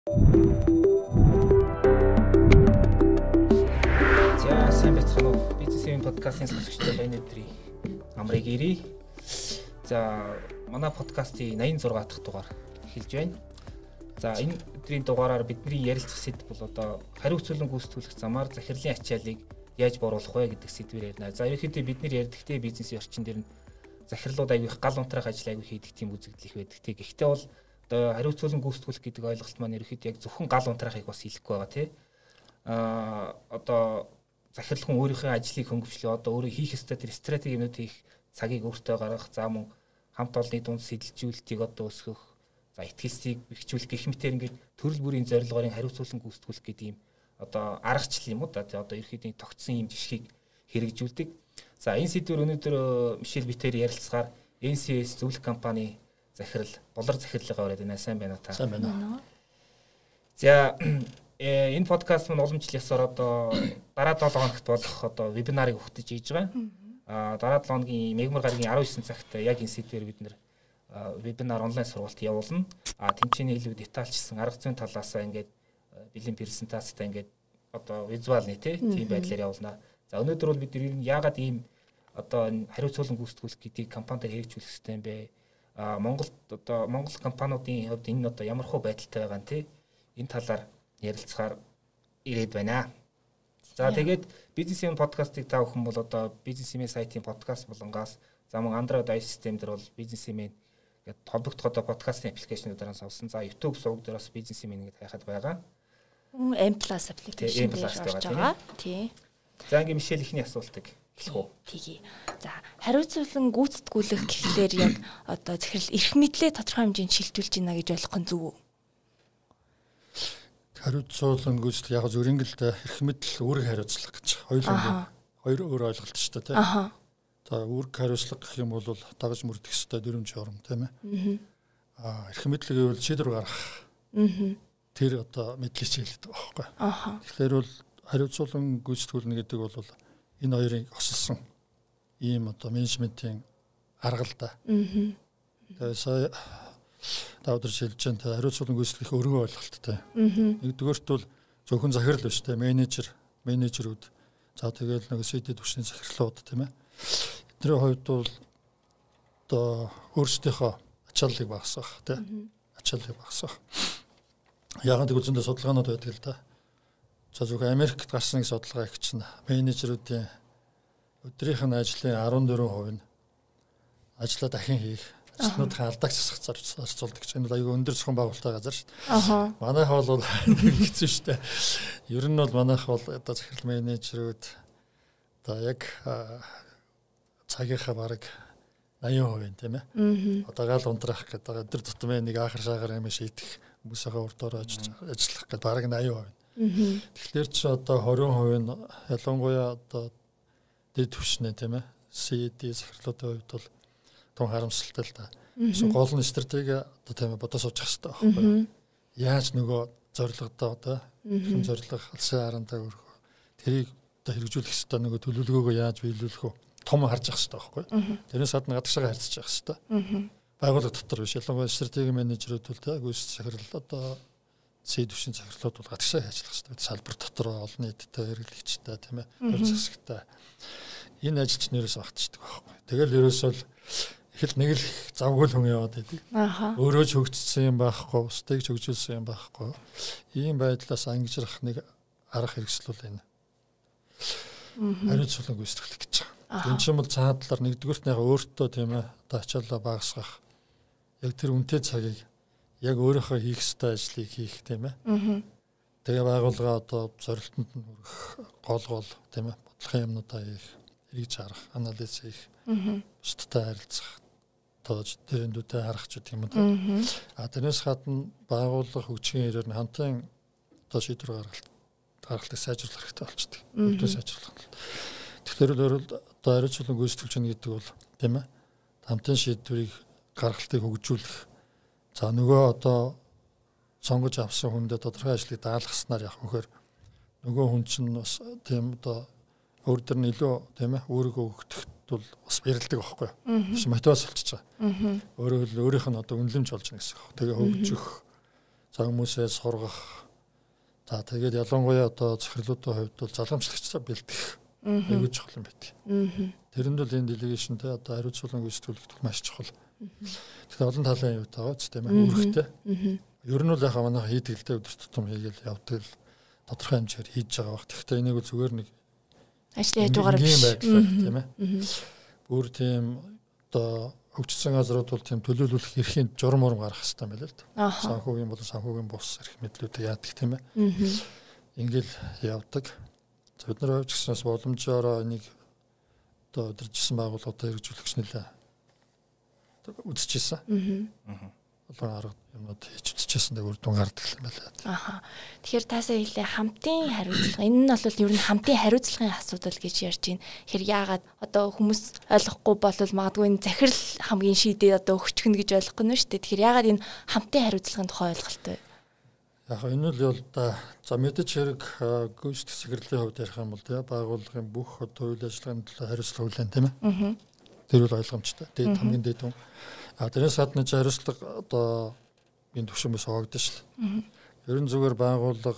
За сайн байцгаана уу? Бизнесийн подкастын сонсогчдод энэ өдрийн амрыг ирье. За манай подкастын 86 дахь дугаар эхэлж байна. За энэ өдрийн дугаараар бидний ярилцах сэдв бол одоо хариуцлан гүйцэтгүүлэх замаар захирлын ачааллыг яаж бууруулах вэ гэдэг сэдвээр ярина. За ерөнхийдөө бид нар ярьдагтэй бизнесийн орчин дээр нь захирлууд аягүй их гал унтраах ажил аягүй хийдэг тийм үзэгдэл их байдаг. Гэхдээ бол одоо хариуцлан гүйцэтгүүлэх гэдэг ойлголт маань ерөнхийдөө яг зөвхөн гал унтраахыг бас хэлэхгүй байгаа тий. Одоо захирал хүн өөрийнхөө ажлыг хөнгөвчлөө одоо өөрөө хийх ёстой тэр стратегиуд хийх цагийг өөртөө гаргах, за мөн хамт олонны дунд сэтэлжүүлэлтийг одоо өсгөх, за итгэлсийг бэхжүүлэх гэх мэтээр ингээд төрөл бүрийн зорилгоорын хариуцлан гүйцэтгүүлэх гэдэг юм одоо аргачлал юм уу да одоо ерөнхийдөө тогтсон юм жишгийг хэрэгжүүлдэг. За энэ сэдвээр өнөөдөр Мишель битээр ярилцгаар NCS зөвлөх компани захирал болор захирлыгаа ураад байна. Сайн байна уу та? Сайн байна. За энэ подкаст маань уламжлал ёсоор одоо дараа 7 хоногт болох одоо вебинарыг өгтөж хийж байгаа. Дараа 7 хоногийн мегмар гарагийн 19 цагт яг энэ сэдвээр бид нэр вебинар онлайн сургалт явуулна. Тэмцээний илүү детальчсан арга зүйн талаас ингээд бэлэн презентацтай ингээд одоо визуалны тийм байдлаар явуулна. За өнөөдөр бол бид яагаад ийм одоо хариуцлан гүйцэтгүүлэх гэдгийг компанид хэрэгжүүлэх хэрэгтэй юм бэ? Монголд одоо Монгол компаниудын хувьд энэ одоо ямар хөө байдалтай байгаа нь энэ талаар ярилцахаар ирээд байна. За тэгээд бизнесийн подкастыг та бүхэн бол одоо бизнесийн сайтын подкаст болонгоос за мөн Android iOS систем дээр бол бизнесийн гэдэг холбогдох одоо подкастын аппликейшнуудаараа авсан. За YouTube суваг дээр бас бизнесийн гэдэг хайхад байгаа. M+ аппликейшн дээр орж байгаа. Тий. За ингээм Мишель ихний асуултыг хэлэх үү? Тэгье. За хариуцлан гүйцэтгүүлэх гэхлээр яг одоо захирал эрх мэдлээ тодорхой хэмжээнд шилжүүлж байна гэж ойлгох нь зөв үү? Хариуцлан гүйцэтгэх яг зөв ингээл эрх мэдэл үүрэг хариуцлага гэж хоёр өөр ойлголт шүү дээ тийм. За үүрэг хариуцлага гэх юм бол дагаж мөрдөх ёстой дүрм журам тийм ээ. Эрх мэдлэг гэвэл шийдвэр гаргах. Тэр одоо мэдлийг хэлдэг байхгүй. Тэгэхээр бол хариуцлан гүйцэтгүүлнэ гэдэг бол энэ хоёрын осолсон ийм одоо менежментийн арга л да. Тэгээ сая даавдар шилжиж байгаа хариуцлан гүйцэтгэх өргөн ойлголттой. Нэгдүгээрт бол зөвхөн захирал биш те менежерүүд за тэгэл нэг сэтэд түвшний захирлууд тийм ээ. Эдний хувьд бол одоо өөрсдийнхөө ачааллыг багасгах тийм ачааллыг багасгах. Яг нэг үзэндээ судалгаанууд байдаг л да. За зөвхөн Америкт гарсан судалгаа их чинь менежерүүдийн өдрийнх нь ажлын 14% нь ажлаа дахин хийх, ажлынхаа алдааг засах зарцуулдаг гэж. Энэ бол аюул өндөр зохион байгуулалттай газар шүү дээ. Манайх бол хэцүү шүү дээ. Ер нь бол манайх бол одоо захирал менежерүүд одоо яг цагийнхаа бараг 80% тийм ээ. Одоо гал унтраах гэдэг өдөр тутмын нэг ахар шаагар юм шийдэх хүмүүсийнхээ урдуур ажиллах гэдэг бараг 80%. Тэгэхээр чи одоо 20% нь ялангуяа одоо дэд түвшнээ тийм ээ. CD захирлуудын хувьд бол тун харамсалтай л да. Гол нь стратеги одоо тийм ээ бодож суучих хэрэгтэй байхгүй. Яаж нөгөө зорилгодоо одоо хэм зорилго алсын харантаа өргөх. Тэрийг одоо хэрэгжүүлэх хэрэгтэй нөгөө төлөвлөгөөгөө яаж биелүүлэх вэ? Том харж явах хэрэгтэй байхгүй. Тэрнээс гадна гадагшаа харьцаж явах хэрэгтэй. Байгууллага дотор биш ялангуяа стратеги менежерүүд бол тийм гүйс захирал одоо сэдвшин захирлууд бол гадагшаа ажиллах хэрэгтэй. Салбар дотор олон нийттэй хэрэглэгчтэй тийм ээ. Төр засагтай. Энэ ажилч нэрээс багтчихдаг байхгүй. Тэгэл ерөөсөө их л нэг л завгүй л хүн яваад байдаг. Өөрөө ч хөгжсөн юм байхгүй, устдыг ч хөгжүүлсэн юм байхгүй. Ийм байдлаас ангижрах нэг арга хэрэгсэл бол энэ. Хариуцлан гүйцэтгэх гэж байгаа. Энэ ч юм бол цаад талаар нэгдүгürt нь яг өөртөө тийм ээ одоо ачаалаа багасгах. Яг тэр үнэтэй цагийг яг өөрийнхөө хийх ёстой ажлыг хийх тийм ээ. Тэгээ байгууллага одоо зорилтонд нь хүрэх гол тийм ээ бодлогын юмнуудаа хийх, эргэж харах, анализ хийх, бусдтай харилцах, тоож тэрэндүүтэй харах ч гэх юм уу. Тэрнээс гадна байгууллага хөгжихийн хэрээр нь хамтын одоо шийдвэр гаргалтыг сайжруулах хэрэгтэй болчихдог. Өвдөө сайжруулах. Тэгэхээр одоо хариуцлан гүйцэтгэлж байгаа гэдэг бол тийм ээ хамтын шийдвэрийг гаргалтыг хөгжүүлэх. За нөгөө одоо сонгож авсан хүндээ тодорхой ажлыг даалгаснаар явах вөхөр нөгөө хүн чинь бас тийм одоо өөр дөр нь илүү тийм ээ өөрийгөө өгөхөд бол бас бэрэлдэг байхгүй юу? Биш мотивац болчихж байгаа. Өөрөөр хэл өөрийнх нь одоо үнэлэмж болж байна гэсэн үг. Тэгээ хөгжих За хүмүүсээ сургах. За тэгээд ялангуяа одоо захирлуудын хувьд бол залгамжлагчдаа бэлтгэх аюул чухал юм байдаг. Тэрэнд бол энэ делегашнтэй одоо хариуцлагын гүйцэтгүүлэгдэх маш чухал. Тэгэхээр олон талын аюут байгаа ч тийм ээ үүрэгтэй. Ер нь бол яг манай хийдгэлтэй өдөр тутам хийгээл явдаг л тодорхой хэмжээр хийж байгаа баг. Тэгэхдээ энийг зүгээр нэг ажлын хажуугаар биш тийм ээ. Бүр тийм одоо хөгжсөн газрууд бол тийм төлөөлөх эрхийн журам гаргах хэрэгтэй юм байна л да. Санхүүгийн болон санхүүгийн бус эрх мэдлүүдийг яадаг тийм ээ. Ингээл явдаг. Бид нар хувьч гэснээс боломжоор энийг одоо өдөржсэн байгууллагуудаа хэрэгжүүлэгч нэлээ үзчихсэн. Олон арга юмнууд хийж үзчихсэн дээр үр дүн гардаг юм байна. Тэгэхээр таасаа хэлээ хамтын хариуцлага. Энэ нь бол ер нь хамтын хариуцлагын асуудал гэж ярьж байна. Тэгэхээр яагаад одоо хүмүүс ойлгохгүй болвол магадгүй энэ захирал хамгийн шийдээ одоо өгчихнө гэж ойлгохгүй нь шүү дээ. Тэгэхээр яагаад энэ хамтын хариуцлагын тухай ойлголттой вэ? Яг энэ л бол да за мэдээж хэрэг гүйцэтгэх захирлын хувьд ярих юм бол тийм байгууллагын бүх одоо үйл ажиллагааны төлөө хариуцлага хүлээн тийм ээ. Тэр бол ойлгомжтой. Тэгээд хамгийн дээд хүн тэрээс гадна хариуцлага одоо энэ төвшмөөс хуваагдсан шүү дээ. Ер нь зүгээр байгууллага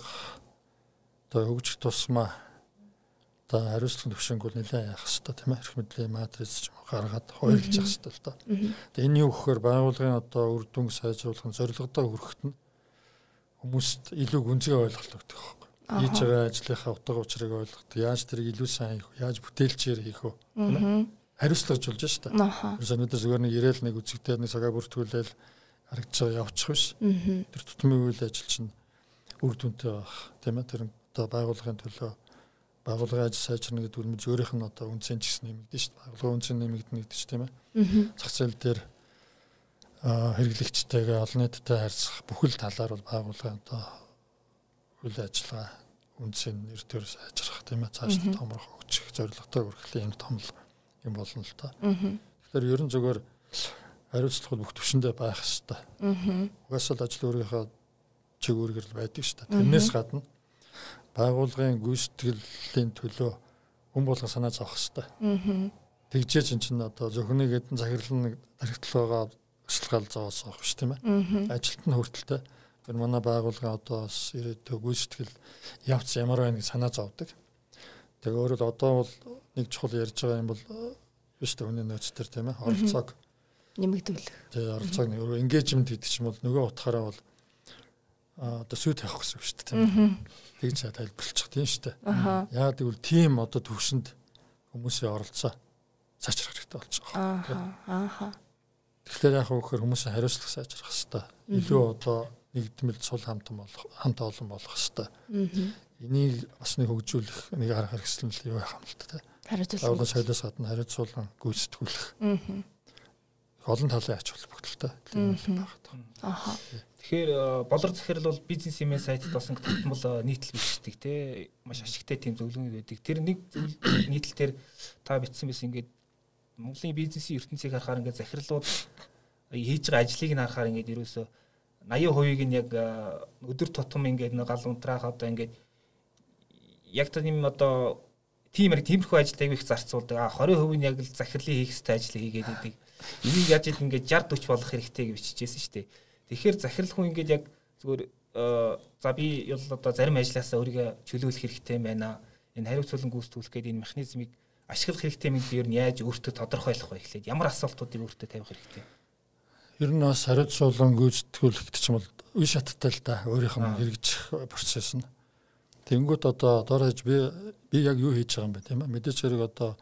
одоо хөгжих тусмаа одоо хариуцлагын төвшинг бол нэлээд яах хэрэгтэй тийм ээ. Эрх мэдлийн матриц ч юм гаргаад хуваарлаж явах хэрэгтэй л да. Тэгээд энэ юу гэхээр байгууллагын одоо үр дүн сайжруулах зорилгодоо хүрэхэд нь хүмүүст илүү гүнзгий ойлголт өгдөг байхгүй. Хийж байгаа ажлынхаа утга учирыг ойлгох, яаж тэрийг илүү сайн хийх, яаж бүтээлчээр хийх вэ? Тийм ээ. Хариуцлагажулж шүү дээ. Ерөөсөө өнөөдөр зүгээр нэг ирээл нэг үзэгдээд нэг цагаа бүртгүүлээл харагдаж байгаа явчих биш. Тэр тутмын үйл ажил чинь үр дүнтэй байх. Тийм ээ. Тэр одоо байгууллагын төлөө байгууллагын ажил сайжрна гэдэг үл мэд өөрийнх нь одоо үнцэн ч гэсэн нэмэгдэн шүү дээ. Байгууллагын үнцэн нэмэгдэнэ гэдэг чинь тийм ээ. Зах зээл дээр хэрэглэгчтэйгээ олон нийттэй харьцах бүхэл талаар бол байгууллагын одоо үйл ажиллагаа үнцэн нэр төр сайжрах тийм ээ. Цааш томрох өгчих зорилготой хүрэх юм том юм болно л та. Тэгэхээр ер нь зүгээр хариуцлага бүх төвшөндөө байх хэрэгтэй. Угаасаа л ажил өөрийнхөө чиг үүргэр л байдаг шүү дээ. Тэрнээс гадна байгууллагын гүйцэтгэлийн төлөө хүн болгон санаа зовох хэрэгтэй. Тэгжээ чинь одоо зөвхөн нэг хэдэн захирлын тархитлагаа өсөлгөл зоос авах шүү тийм ээ. Ажилт нь хүртэлтэй. Тэр манай байгууллагын одоо ирээдүйн гүйцэтгэл явц ямар байна гэж санаа зовдөг. Тэгээ өөрөөр одоо бол нэг чухал ярьж байгаа юм бол биш үү хүний нөөц төр тийм ээ оролцоог нэмэгдүүлэх. Тэгээ оролцоог нэг engagement гэдэг чинь бол нөгөө утгаараа бол одоо сүйт тавих гэсэн үг шүү дээ тийм ээ. Тэгж тайлбарлчих тийм шүү дээ. Яагаад гэвэл тийм одоо төвшөнд хүмүүсийн оролцоо сайжрах хэрэгтэй болж байгаа. Тэгэхээр яг хөөхөр хүмүүсийн хариуцлага сайжрах хэрэгтэй. Илүү одоо нэгдмэл сул хамт олон болох хэрэгтэй. Энийг бас нэг хөгжүүлэх нэг арга хэрэгсэл юу яах юм л та. Хариуцлага соёлоос гадна хариуцуулан гүйцэтгүүлэх. Олон талын ач холбогдолтой юм байна. Тэгэхээр болор захирал бол бизнес имэн сайтд болсон тогтмол нийтлэл бичдэг те маш ашигтай тийм зөвлөгөө байдаг. Тэр нэг нийтлэл дээр та бичсэн байсан ингээд Монголын бизнесийн ертөнцийг харахаар ингээд захирлууд хийж байгаа ажлыг нь харахаар ингээд ерөөсөө 80% нь яг өдөр тутам ингээд нэг гал унтраах одоо ингээд яг тийм одоо тиймэрхүү ажилд аяг их зарцуулдаг. 20% нь яг л захирлын хийх ёстой ажлыг хийгээд байдаг. Энийг яаж ийм ингээд 60-40 болох хэрэгтэй гэж бичижсэн шүү дээ. Тэгэхээр захирал хүн ингээд яг зүгээр за би бол одоо зарим ажлаасаа өөрийгөө чөлөөлөх хэрэгтэй байна. Энэ хариуцлага гүйцэтгүүлэх гэдэг энэ механизмыг ашиглах хэрэгтэй юм дээр нь яаж өөртөө тодорхойлох вэ гэхлээр ямар асуултуудыг өөртөө тавих хэрэгтэй. Ер нь бас хариуцлага гүйцэтгүүлэх гэдэг чинь бол үе шаттай л да өөрийнх нь хэрэгжих процесс нь. Тэнгүүд одоо доорож би яг юу хийж байгаа юм бэ тийм ээ. Мэдээж хэрэг одоо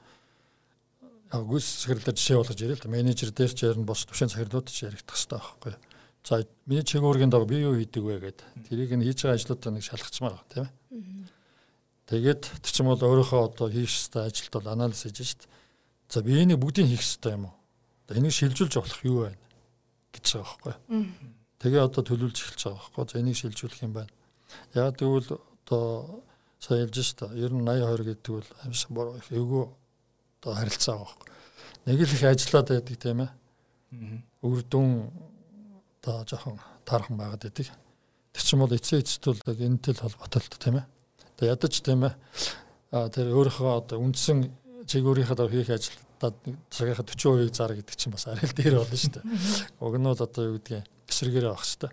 яг гүйцэтгэлээр жишээ болгож ирээ л да. Менежер дээр ч ярина бос төвшин захирлууд ч яригдах хэрэгтэй байхгүй. За миний чиглэлгийн дагуу би юу хийдэг вэ гэдэг. Тэрийг нь хийж байгаа ажлуудаа нэг шалгачмаар байна тийм ээ. Тэгээд тэр чинь бол өөрийнхөө одоо хийх ёстой ажилд бол анализ хийж шít. За би энийг бүгдийг хийх ёстой юм уу? Одоо энийг шилжүүлж болох юу байна гэж байгаа байхгүй. Тэгээ одоо төлөвлөж эхэлж байгаа байхгүй. За энийг шилжүүлэх юм байна. Яг тэгвэл одоо сая хэлж шít. Ер нь 80-20 гэдэг бол амьсан бороо их эвгүй одоо харилцаа байгаа байхгүй. Нэг л их ажиллаад байдаг тийм ээ. Үр дүн одоо жоохон таархан байгаад байдаг. Тэр чинь бол эцэст бол энэтэй л холбоотой л тийм ээ. Одоо ядаж тийм ээ. Тэр өөрийнхөө одоо үндсэн чиг өөрийнхөө дор хийх ажилдаа цагийнхаа 40% зар гэдэг чинь бас арай л дээр болно шүү дээ. Уг нь бол одоо юу гэдгийг эсрэгээрээ авах хэрэгтэй.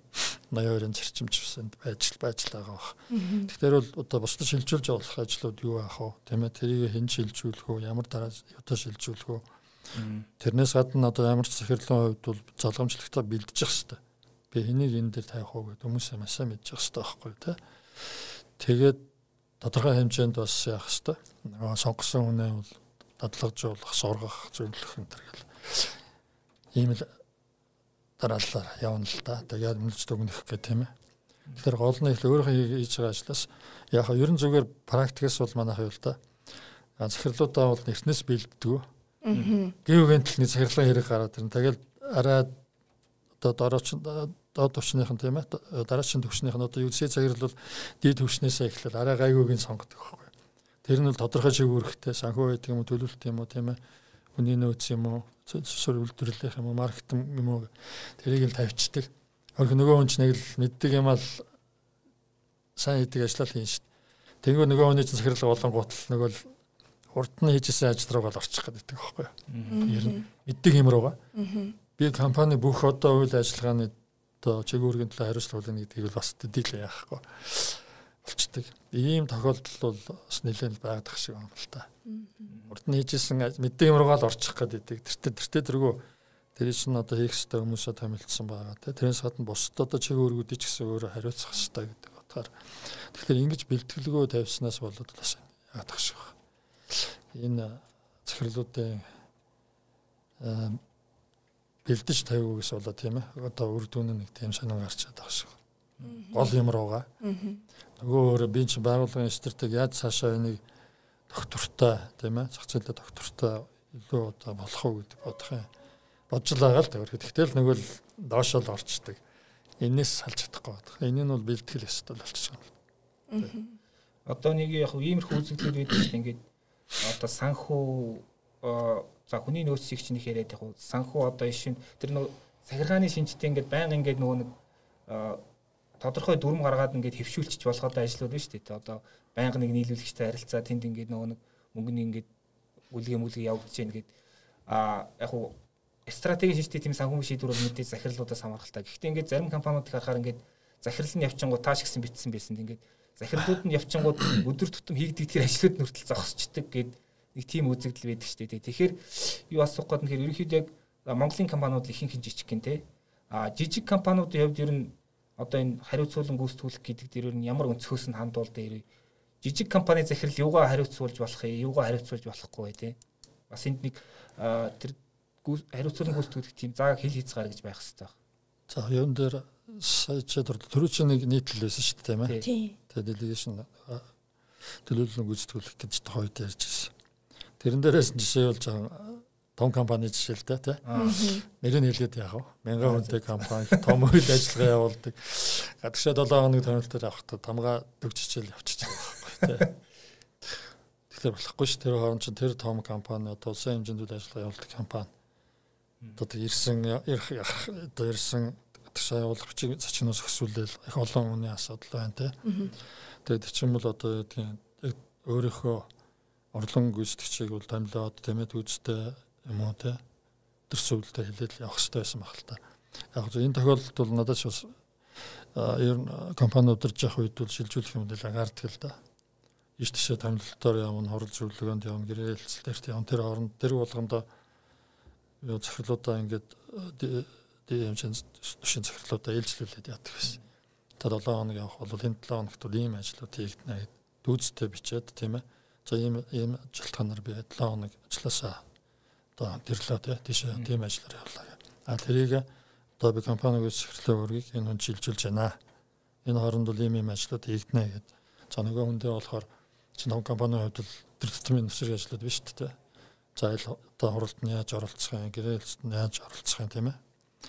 82-ын зарчимчсанд байж байгаа баг. Тэгэхээр бол одоо бусдад шилжүүлж болох ажлууд юу аах вэ? Тийм ээ, тэрийг хэн шилжүүлэх вэ? Ямар дараа одоо шилжүүлэх вэ? Тэрнээс гадна одоо ямар ч захирлын хувьд бол залгамжлагтаа бэлдэж явах хэрэгтэй. Би энийг энэ дээр тавих уу гэдэг хүмүүсээ маш сайн мэдчих хэрэгтэй байхгүй тий. Тэгээд тодорхой хэмжээнд бас яах хэрэгтэй. Нөгөө сонгосон хүнээ бол дадлагжуулах, сургах, зөвлөх энэ төр гэл. Ийм л дараалал явна л да. Тэгээд мэлж дүгнэх гэх тийм ээ. Тэгэхээр гол нь их өөрөө хийж байгаа ажлаас яг ерөн зүгээр практикээс бол манайх юу л да. Захирлуудаа бол эртнээс бэлддэг. Гэвэн төлний захирлын хэрэг гараад ирнэ. Тэгэл арай одоо доод төвчнийхэн тийм ээ. Дараагийн төвчнийхэн одоо юу гэсэн захирал бол дээд төвчнээсээ эхлээд арай гайгүйг нь сонгодог байхгүй. Тэр нь бол тодорхой шигүүрхтэй санхүү байдаг юм уу, төлөвлөлт юм уу тийм ээ. Хүний нөөц юм уу, суурь үйлдвэрлэх юм уу, маркетинг юм уу тэрийг л тавьчихдаг. Нөгөө хүн ч нэг л мэддэг юм аа сайн хийдэг ажиллал хийн шүү дээ. Тэнгүү нөгөө хүний захирал болонгууд л нөгөө л урд нь хийжсэн ажил руугаа л орчих гэдэг байхгүй юу. Ер нь мэддэг юм руугаа. Би компани бүх одоо үйл ажиллагааны одоо чигүүргийн төлөө хариуцлага гэдгийг бол бас дийлээ яахгүй болчдөг. Ийм тохиолдол бол бас нэлээд байгаад шиг юм л та. Урд нь хийжсэн мэддэг юм руугаа л орчих гэдэг. Тэртээ тэргүү тэр чинь одоо хийх ёстой хүмүүсээ томилдсон байгаа те. Тэрнээс гадна бусд одоо чигүүргүүдийг ч гэсэн өөрөө хариуцах ёстой гэдэг утгаар. Тэгэхээр ингэж бэлтгэлгөө тавьснаас болоод бас яадах шиг байна. Энэ захирлуудын бэлдэж тавьгүйгээс болоо тийм ээ. Одоо үр дүн нэг тийм сонин гарч чадах шиг. Гол юм руугаа. Нөгөө өөрөө би чинь байгууллагын стратеги яаж цаашаа энийг доктортой тийм ээ. Зах зээлээ доктортой илүү одоо болох уу гэдэг бодох юм. Бодж л байгаа л тавир. Тэгтэл нөгөө л доошоо л орчдөг. Энээс салж чадахгүй байна. Энэ нь бол бэлтгэл ёстой болчихсон юм. Одоо нэг яг иймэрхүү үзэгдлүүд байдаг шүү дээ. Ингээд одоо санхүү за хүний нөөцийг чинь их яриад яг санхүү одоо шин тэр нөгөө сахиргааны шинжтэй ингээд байнга ингээд нөгөө нэг тодорхой дүрм гаргаад ингээд хэвшүүлчих болгоод ажлууд байна шүү дээ. Одоо байнга нэг нийлүүлэгчтэй харилцаа тэнд ингээд нөгөө нэг мөнгөний ингээд үлгээ явагдаж байна гэдэг яг стратеги шинжтэй тийм санхүү шийдвэр бол мэдээж захирлуудаас хамааралтай. Гэхдээ ингээд зарим компаниудыг харахаар ингээд захирал нь явчингууд тааш гэсэн битсэн байсан. Ингээд захирлууд нь явчингууд өдөр тутам хийгдэг тэр ажлууд нь хүртэл зогсчдаг гэдэг нэг тийм үзэгдэл байдаг шүү дээ. Тэгэхээр юу асуух гээд нэхэр ерөнхийдөө яг Монголын компаниуд ихэнх жижиг гин те. Жижиг компаниудын хувьд ер нь одоо энэ хариуцуулан гүйцэтгүүлэх гэдэг дээр ер нь ямар өнцгөөс нь хандуул дээр жижиг компани захирал юугаа хариуцуулж болох юм, юугаа хариуцуулж болохгүй те. Бас энд нэг тэр хариуцуулан гүйцэтгэх тийм зааг хил хийц гараа гэж байх хэрэгтэй. За юун дээр сая төрөө чинь нэг нийтлэл байсан шүү дээ тийм ээ. Тэгээд делегашн төлөвлөлөн гүйцэтгүүлэх гэж хойд ярьж ирсэн. Тэрэн дээрээс жишээ болж байгаа том компани жишээ л дээ тийм. Нэрийг хэлээд яах вэ? 1000 хүнтэй компани том үйл ажиллагаа явуулдаг. Гадагшаа 7 хоног томилтоор авахдаа тамга дөгжчихэл явчихж байгаа байхгүй тийм. Тэгэхээр болохгүй ш тэр хооронд чинь тэр том компани одоо улсын хэмжээнд үйл ажиллагаа явуулдаг компани. Одоо ирсэн гадагшаа явуулах зочноос өсвөлдөл их олон хүний асуудал байна тийм. Тэгээд чинь бол одоо өөрийнхөө орлон гүйцэтгэгчийг бол томилоод тэмээд үзтэй юм уу те төрсөвлөлтөд хэлээд явах хэрэгтэй байсан баг л та. Яг зөв энэ тохиолдолд бол надад ч бас ер нь компани удирж явах үед бол шилжүүлэх юм дээр агаардаг л да. Иш тийшээ томилолтоор явна, хурал зөвлөгөөнд явна, гэрээ хэлцэлтэрт явна. Тэр хооронд тэр болгондоо юу захирлуудаа ингээд дэмжин төшин захирлуудаа ээлжлүүлээд яадаг байсан. Тэр 7 хоног явах бол энэ 7 хоногт бол ийм ажлууд хийгдэнэ гэд дүүцтэй бичээд тийм ээ. За ийм ажилтгаанаар би 7 хоног ажилласаа одоо тэрлээ тийшээ тийм ажиллаар явуулаа. Тэрийг одоо би компаниг захирлын өргийг энэ хүн шилжүүлж байна. Энэ хооронд бол ийм ажлууд хийгдэнэ гэд. За нөгөө хүндээ болохоор чинь компанийн хувьд бол тэр тутмын нөхцөл ажлууд биш шүү дээ. За одоо хуралд нь яаж оролцох юм, гэрээлэлд нь яаж оролцох юм тийм ээ.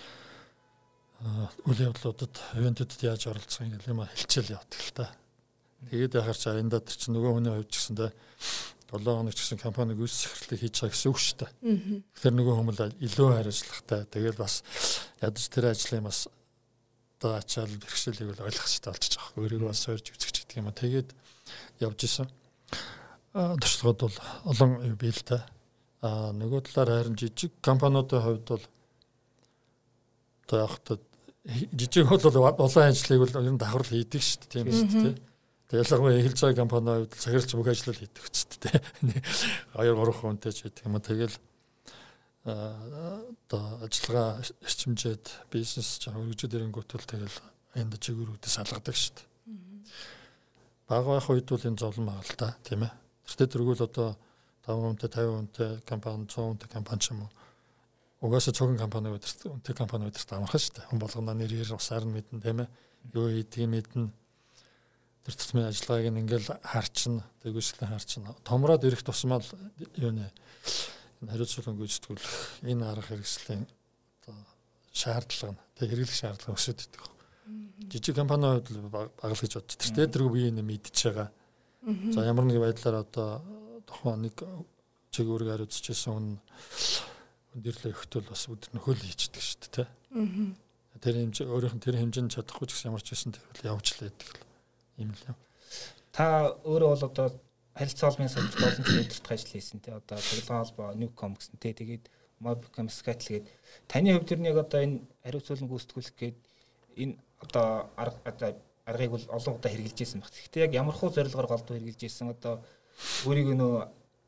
Үйл явдлуудад, ивэнтүүдэд яаж оролцох юм гэх юм хэлчихэл явдаг л та. Тэгээд яхаар чи энэ дээр чинь нөгөө хүний хувьд ч гэсэндээ 7 хоног ч гэсэн компани гүйцэтгэх захирлыг хийж байгаа гэсэн үг шүү дээ. Тэгэхээр нөгөө хүмүүс илүү хариуцлагатай. Тэгээд бас ядаж тэр ажлын бас одоо ачаал бэрхшээлийг бол ойлгох хэрэгтэй болчих жоох. Өөрийгөө бас сойрж үзэх гэдэг юм а. Тэгээд явж исэн. Туршлагууд бол олон бий л та. Нөгөө талаар харин жижиг компаниудын хувьд бол одоо яг жижиг бол улаан ажлыг бол ер нь давхар хийдэг шүү дээ, тийм шүү дээ. Тэгээ ялангуяа эхэлж байгаа компанийн хувьд цагаарч бүх ажлыг хийдэг үст дээ. 2-3 хүнтэй ч гэдэг юм. Тэгэл одоо ажиллагаа эрчимжээд бизнес жаа хөгжиж ирэнгүүт л тэгэл энд чигүүрүүдээс салгадаг шүү дээ. Бага байх үед бол энэ зовлон байгаа л та, тийм ээ. Тэртээ тэргүүл одоо 5 хүнтэй 50 хүнтэй компани 100 хүнтэй компани ч юм уу. Угаасаа цогн компани өдөрт компани өдөрт амархан шүү дээ. Хүн болгоно нэрээр усаар нь мэднэ, тийм ээ. Юу хийдгийг мэднэ. Тэр тусмын ажиллагааг ингээл харчна, тэгвэслэн харчна. Томроод ирэх тусмал юу нэ энэ хариуцлага гүйцэтгүүлэх энэ арга хэрэгслийн одоо шаардлага нь тэг хэрэглэх шаардлага өсөд идэх. Жижиг компаниуд багал гэж бодчих. Тэр тэргүй бие нэ мэдчихэж байгаа. За ямар нэг байдлаар одоо тухайн нэг чиглэлээр хариуцчихсан хүн өндөрлөө өгтөл бас өдөр нөхөл хийчихдэг шүү дээ, тийм. Тэр хэмжээ өөрийнх нь тэр хэмжээнд чадахгүй ч гэсэн ямар ч байсан тэр бол явж л байдаг юм л юм. Та өөрөө бол одоо харилцаа холбооны салбарт олон жил удирдах ажил хийсэн тий. Одоо цэглэгийн холбоо Newcom гэсэн тий. Тэгээд Mobicom Skytel гээд таны хувьд ер нь яг одоо энэ хариуцлага гүйцэтгүүлэх гээд энэ одоо аргыг бол олон удаа хэрэгжилж байсан баг. Гэхдээ яг ямар хуу зорилгоор голдуу хэрэгжилж байсан одоо өөрийг нөө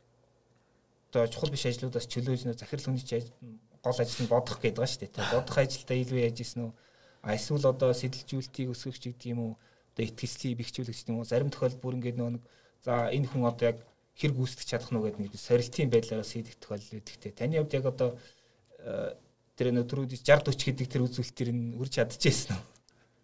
одоо чухал биш ажлуудаас чөлөөж нөө захирал хүний гол ажил нь бодох гэдэг байгаа шүү дээ. Бодох ажилдаа илүү яаж ийсэн үү? Эсвэл одоо сэтэлжүүлэлтийг өсгөх ч гэдэг юм уу? Одоо итгэлцлийг бэхжүүлэх гэдэг юм уу? Зарим тохиолдолд бүр ингээд нөө за энэ хүн одоо яг хэр гүйцэтгэж чадах нь гэдэг нэг сорилтын байдлаараа хийдэг тохиолдол үүдэгтэй. Таны хувьд яг одоо тэр өнөөдрүүд 60 40 гэдэг тэр үзүүлэлтээр нь үрж чадчихсан уу?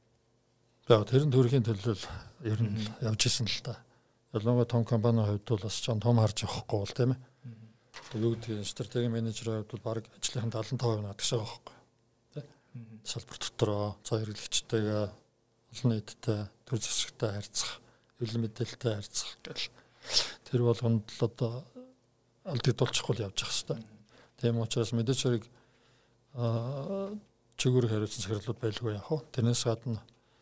За тэрэн төрхийн төлөө ер нь явж исэн л та. Ялангуяа том компанийн хувьд бол бас ч том харж явахгүй бол тийм ээ. Юу гэдэг стратеги менежерийн хувьд бол баг ажлынхаа 75% надагш байгаа байхгүй. Тэ? Салбар дотроо цаа хэрэглэгчтэйгээ олон нийттэй төр засагтай харьцах, хэвлэл мэдээлэлтэй харьцах гэл тэр болгонд л одоо алдагдуулчихгүй явж явах хэрэгтэй. Тийм учраас мэдээж хэрэг чигээр хариуцсан захирлууд байлгүй яах вэ? Тэрнээс гадна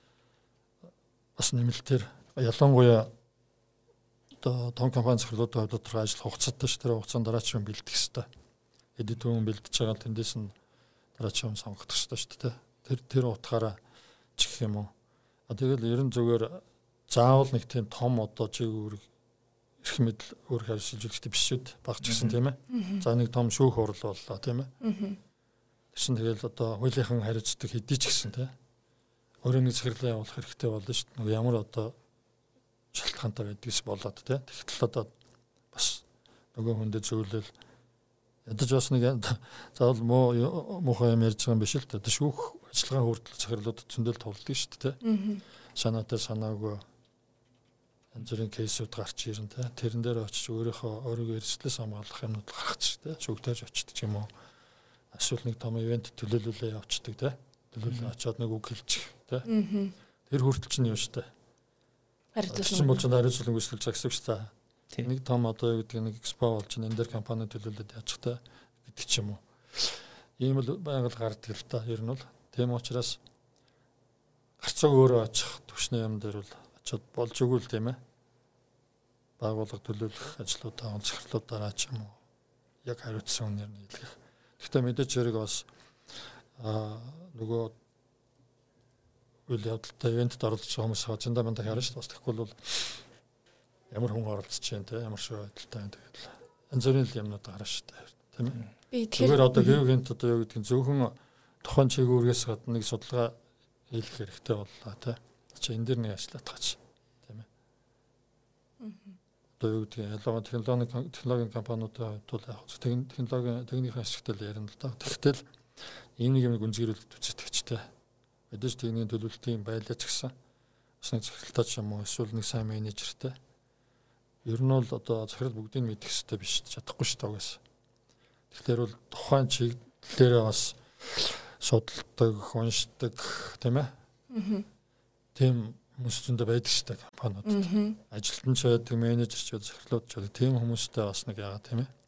бас нэмэлтээр ялангуяа одоо том компани захирлуудын хувьд тодорхой ажил хугацаатай ш тэр хугацаанд дараачийн бэлдэх хэрэгтэй. Эдит хүн бэлдэж байгаа тэндээс нь дараачийн сонгох хэрэгтэй шүү дээ. Тэр утгаараа ч гэх юм уу. Тэгэл ерөн зүгээр заавал нэг тийм том одоо чигээр эрх мэдэл өөр харьцуулжүүлэхтэй биш шүү дээ. Багч гэсэн тийм ээ. За нэг том шүүх хурал боллоо тийм ээ. Тэсэн тэгэл одоо хуулийнхан хариуцдаг хэдий ч гэсэн тийм ээ. Өөрөө нэг захирлаа явуулах хэрэгтэй болно шүү дээ. Ямар одоо шалтгаантай байдгийс болоод тий. Тэгтэл одоо бас нөгөө хүндээ зөвлөл ядаж бас нэг заавал муухай юм ярьж байгаа юм биш л дээ. Шүүх ажиллагаа хүртэл захирлуудад зөндөл тулдаг шүү дээ тий. Санаатай санаагүй янз бүрийн кейсүүд гарч ирэн тий. Тэрэн дээр очиж өөрийгөө эрсдлээс хамгаалах юмнууд гаргач тий. Шүүгтэж очдөг юм уу? Эсвэл нэг том ивент төлөөлөлөө явцдаг тий. Төлөөлөл очиод нэг үг хэлчих тий. Тэр хүртэл чинь юу шүү дээ. Харилцуулсан болж хариуцлага үүсгэж байгаа гэсэн та. Нэг том одоо юу гэдэг нэг экспо болж энэ дээр компани төлөвлөлөд яачих та гэдэг ч юм уу. Ийм л байнга гардаг л та. Ер нь бол тийм учраас гарцаг өөрөө очих төвшний юм дээр бол очиод болж өгвөл тийм ээ. Байгууллага төлөвлөх ажлуудаа онцгорлуудаараа ч юм уу яг хариуцсан үнээр нь хэлэх. Гэхдээ мэдээж хэрэг бас нөгөө үйл явдалтай ивентэд оролцож байгаа хүмүүс хажиндаа манд харна шүү дээ. Бас тэгэхгүй бол ямар хүн оролцож байна те ямар шиг байдалтай байна тэгээд янз бүрийн юмнууд гарна шүү дээ. Тийм ээ. Тэгэхээр одоо геогент одоо юу гэдэг нь зөвхөн тухайн чиглэлээс гадна нэг судалгаа хийх хэрэгтэй боллоо те. Чи энэ дэр нэг ажиллаад тааж тийм ээ. Одоо юу гэдэг нь ялангуяа технологийн компаниудын хувьд бол яг технологийн ашигтай л ярина л да. Тэгтэл ийм нэг юм гүнзгийрүүлэлт үзэгдэгчтэй. Мэдээж техникийн төлөвлөлтийн байлаач гэсэн бас нэг захиралтай ч юм уу эсвэл нэг сайн менежертэй. Ер нь бол одоо захирал бүгдийг мэдэх хэрэгтэй биш чадахгүй шүү дээ угаас. Тэгэхээр бол тухайн чиглэлээрээ бас судалдаг, уншдаг тийм ээ. Тийм хүмүүс зөндөө байдаг шүү дээ компаниудад. Ажилтан ч байдаг, менежер ч байдаг, захирлууд ч байдаг. Тийм хүмүүстэй бас нэг яагаад тийм ээ.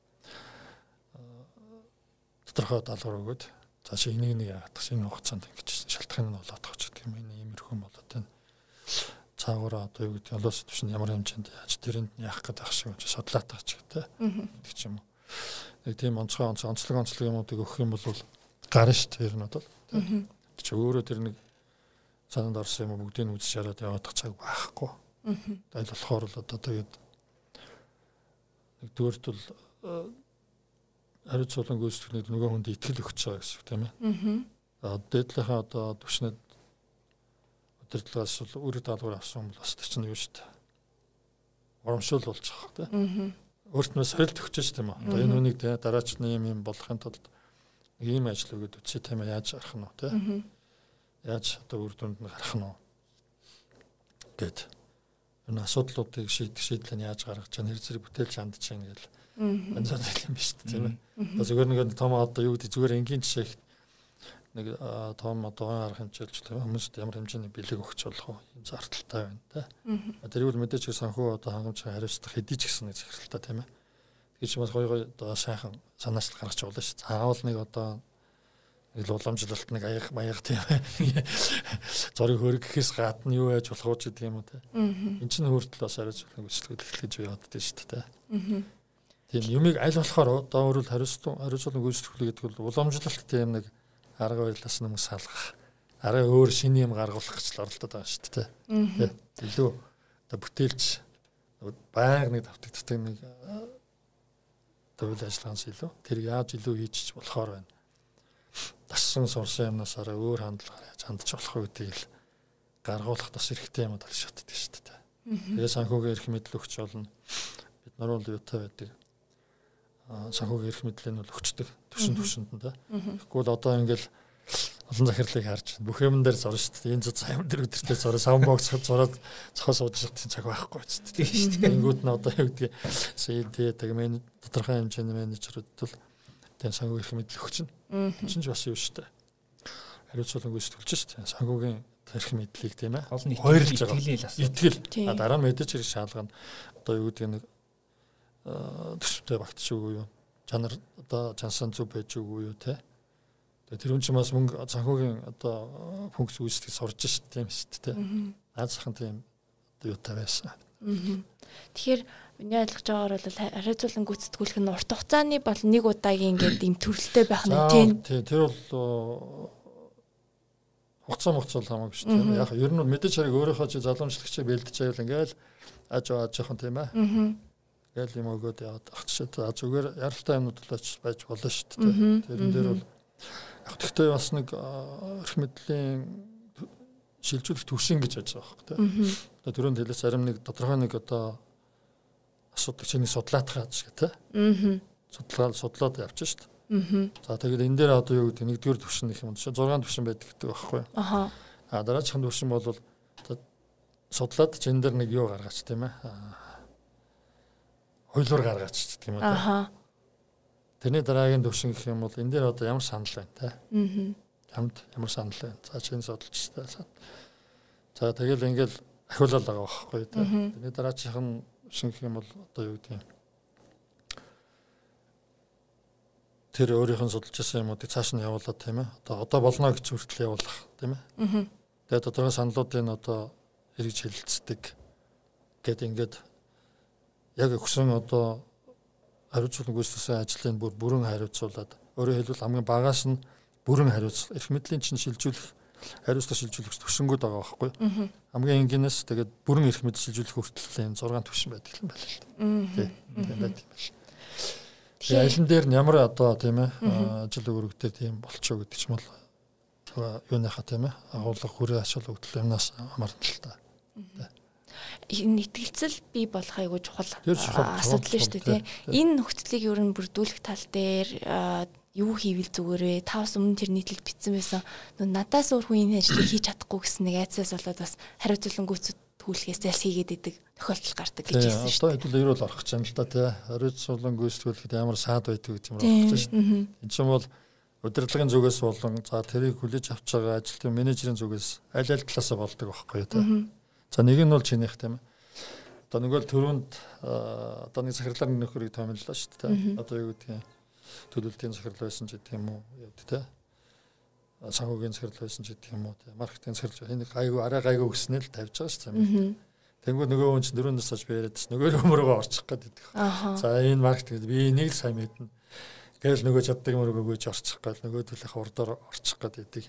Тодорхой даалгавар өгөөд цаашаа энийг яагаад гэсэн энэ хугацаанд ингэж шалтгаан нь болоод байгаа ч гэх юм энэ иймэрхүү болоод байна. Цаагаараа одоо юу гэдэг нь олоос төвшин ямар хэмжээнд яаж тэрэнд яах гэдэг ах шиг судлаад байгаа ч гэдэг гэдэг ч юм уу. Нэг тийм онцлог юмуудыг өгөх юм бол гарна шүү дээ ер нь бол. чи өөрөө тэр нэг санаанд орсон юм бүгдийг үзэж хараад явах цаг байхгүй. Аль болохоор л одоо тэгээд нэгдүгээрт бол хариуцлагын гүйцэтгэлд нөгөө хүнд итгэл өгч байгаа гэсэн үг тийм ээ. Дээдлийнхаа одоо төвшнөд удирдлагаас бол үр даалгавар авсан бол бас чинь юу шүү дээ. Урамшуул болж байгаа тийм. Өөртөө сорилт өгч шүү тийм үү. Одоо энэ хүнийг дараач нь юм болохын тулд ийм ажил өгöd үтсэ тийм ээ яаж гарах нь вэ тийм. Яаж одоо үр дүнд нь гарах нь вэ гэд энэ асуудлуудыг шийдлээ яаж гаргаж чана хэр зэрэг бүтээлч хандж чана гэл янз бүр юм биш тийм ээ. Зүгээр нэг том одоо юу гэдэг зүгээр энгийн жишээ нэг том одоо арга хэмжээлж хүмүүст ямар хэмжээний бэлэг өгч болох вэ? Ийм зардалтай байна та. Тэрийг бол мэдээж санхүү одоо хангамжтай хариуцлах хэдий ч гэсэн нэг захиралтай тийм ээ. Тэгэж бас гоё одоо сайхан санаачлал гаргаж болно шүү. Заавал нэг одоо нэг уламжлалт нэг аяга тийм ээ. Зориг хөрөх гэхээс гадна юу яаж болох вэ гэдэг юм уу те. Энд чинь өөртөө бас хариуцлага гүйцэтгэл эхлэж явагддаг шүү дээ. Тийм юмыг аль болохоор одоо өөрөөр хариуцлага гүйцэтгэл гэдэг бол уламжлалт тийм нэг арга барилаас нэг салгах. Арга өөр шинэ юм гаргуулах гэж оролдоод байгаа шүү дээ. Илүү одоо бүтээлч байнга нэг давтагддаг нэг үйл ажиллагаанаас илүү тэр яаж илүү хийчих болохоор байна. Тассан сурсан юмнаас арай өөр хандлагаар яаж хандж болох вэ гэдгийг л гаргуулах бас хэрэгтэй юм даа шатдаг шүү дээ. Тэгээ санхүүгийн эрх мэдэл өгч болно. Бид нар бол юутай байдаг. Санхүүгийн эрх мэдлийг нь өгчдөг төвшөнд нь да. Тэгэхгүй бол одоо ингээл олон захирлыг харж бүх юм дээр зорно шүү дээ. Энэ зузаан юм дээр өдөртөө зороо савбокс зороод цохос уудчих цаг байхгүй шүү дээ. Тэнгүүд нь одоо юу гэдэг CD тэгээд тодорхой хэмжээний менежерүүд бол тэн санхүүгийн эрх мэдэл өгч чинь ч бас юу шүү дээ. Хариуцлага гүйцэтгэлж шүү дээ. Санхүүгийн эрх мэдлийг тийм ээ. Хоёрлж байгаа. Итгэл. Дараа нь мэдээж хэрэг шаалгана. Одоо юу гэдэг нэг төсөвтэй багтч үгүй юу. Чанар одоо чансан зүв байж үгүй юу те. Тэр хүн чинь бас мөнгө санхүүгийн одоо функц үүсгэж сурж шүү дээ шүү дээ. Аз захын тийм одоо юутай байсан. Тэгэхээр миний ойлгож байгаагаар бол хариуцлага гүйцэтгүүлэх нь урт хугацааны бол нэг удаагийн ингээд ийм төрөлтэй байх нь тийм. Тэр бол хугацаа хамаагүй шүү дээ. Яг ер нь мэдээж хэрэг өөрийнхөө чи залуучлагчийг бэлдэж байвал ингээл ажаахан тийм ээ. Ингээл юм өгөөд яваад ахчихад зүгээр яралтай юмнууд л байж болно шүү дээ. Тэрэн дээр бол тэгтээ бас нэг эрх мэдлийн шилжүүлэх төвшин гэж байж байгаа байхгүй тийм. Одоо түрүүнд хэлээс зарим нэг тодорхой нэг одоо асуудаг чиний судлаатах гэж тийм. Судлаад явчих шүү дээ. За тэгээд энэ дээр одоо юу гэдэг нэгдүгээр төвшин гэх юм шиг 6 төвшин байдаг гэдэг байхгүй. Дараагийн төвшин бол судлаад энэ дээр нэг юу гаргаач тийм ээ. Хуйлуур гаргаач гэдэг юм уу. Тэрний дараагийн төвшин гэх юм бол энэ дээр одоо ямар санал байна те. Ямар санал байна. За чинь судалж та. За тэгэл ингээл ахиулаад байгаа байхгүй те. Тэрний дараагийн төвшин гэх юм бол одоо юу гэдэг юм. Тэр өөрийнх нь судалж байсан юмуудыг цааш нь явуулаад тийм ээ. Одоо болно гэж хүртэл явуулах тийм ээ. Тэгээд тодорхой саналуудыг одоо эргэж хэлэлцдэг гэдэг ингээд яг өгсөн одоо хариуцлага гүйцэтгэсэн ажлын бүрэн хариуцуулаад өөрөөр хэлбэл хамгийн багаас нь бүрэн хариуцлага эрх мэдлийн чинь шилжүүлэх хариуцлага шилжүүлэх төвшингүүд байгаа байхгүй. Хамгийн энгийнээс тэгээд бүрэн эрх мэдэл шилжүүлэх хүртэл энэ 6 төвшин байдаг юм байна л тийм. Тэгээ айлын дээр нь ямар одоо тийм ээ ажил өргөдөө тийм болчихоо гэдэг ч юм бол юуныхаа тийм ээ агуулга хүрээ ачаал өгдөл юмнаас хамаарна л та. Энэ итгэлцэл бий болох айгүй чухал асуудал шүү дээ тийм. Энэ нөхцөлийг ер нь бүрдүүлэх тал дээр юу хийвэл зүгээрээ та бас өмнө тэр нийтлэл бичсэн байсан. Надаас өөр хүн энэ ажлыг хийж чадахгүй гэсэн нэг айцаас болоод бас хариуцлага гүйцэтгүүлэхээс зайлс хийгээд идэг тохиолдол гардаг гэж хэлсэн шүү дээ. Одоо хэдүүл орох гэж юм л та тий. Хариуцлага гүйцэтгүүлэхэд ямар саад байдаг гэдэг юм байна шүү дээ. Энд чинь бол удирдлагын зүгээс болон за тэрийг хүлээж авч байгаа ажилтны менежерийн зүгээс аль талаас болдог байхгүй тий. За нэг нь бол чинийх тийм ээ. Одоо нөгөө төрөнд одоо нэг захирлаар нөхөрийг томиллоо шүү дээ. Одоо юу гэдэг юм төлөвлөлтийн захирал байсан ч гэдэг юм уу явд тэ. Санхүүгийн захирал байсан ч гэдэг юм уу тэ. Маркетинг захирал энэ гайгүй арай гайгүй гэснээр л тавьж байгаа шүү дээ. Тэнгүүд нөгөө хүн чинь дөрөв насаж яриад чинь нөгөө өмөргөө орчих гээд байдаг. За энэ маркетинг би энийг л сайн мэднэ. Гээл нөгөө чаддаг мөргөө гүйж орчих гээд нөгөө төлөх урдаар орчих гээд байдаг.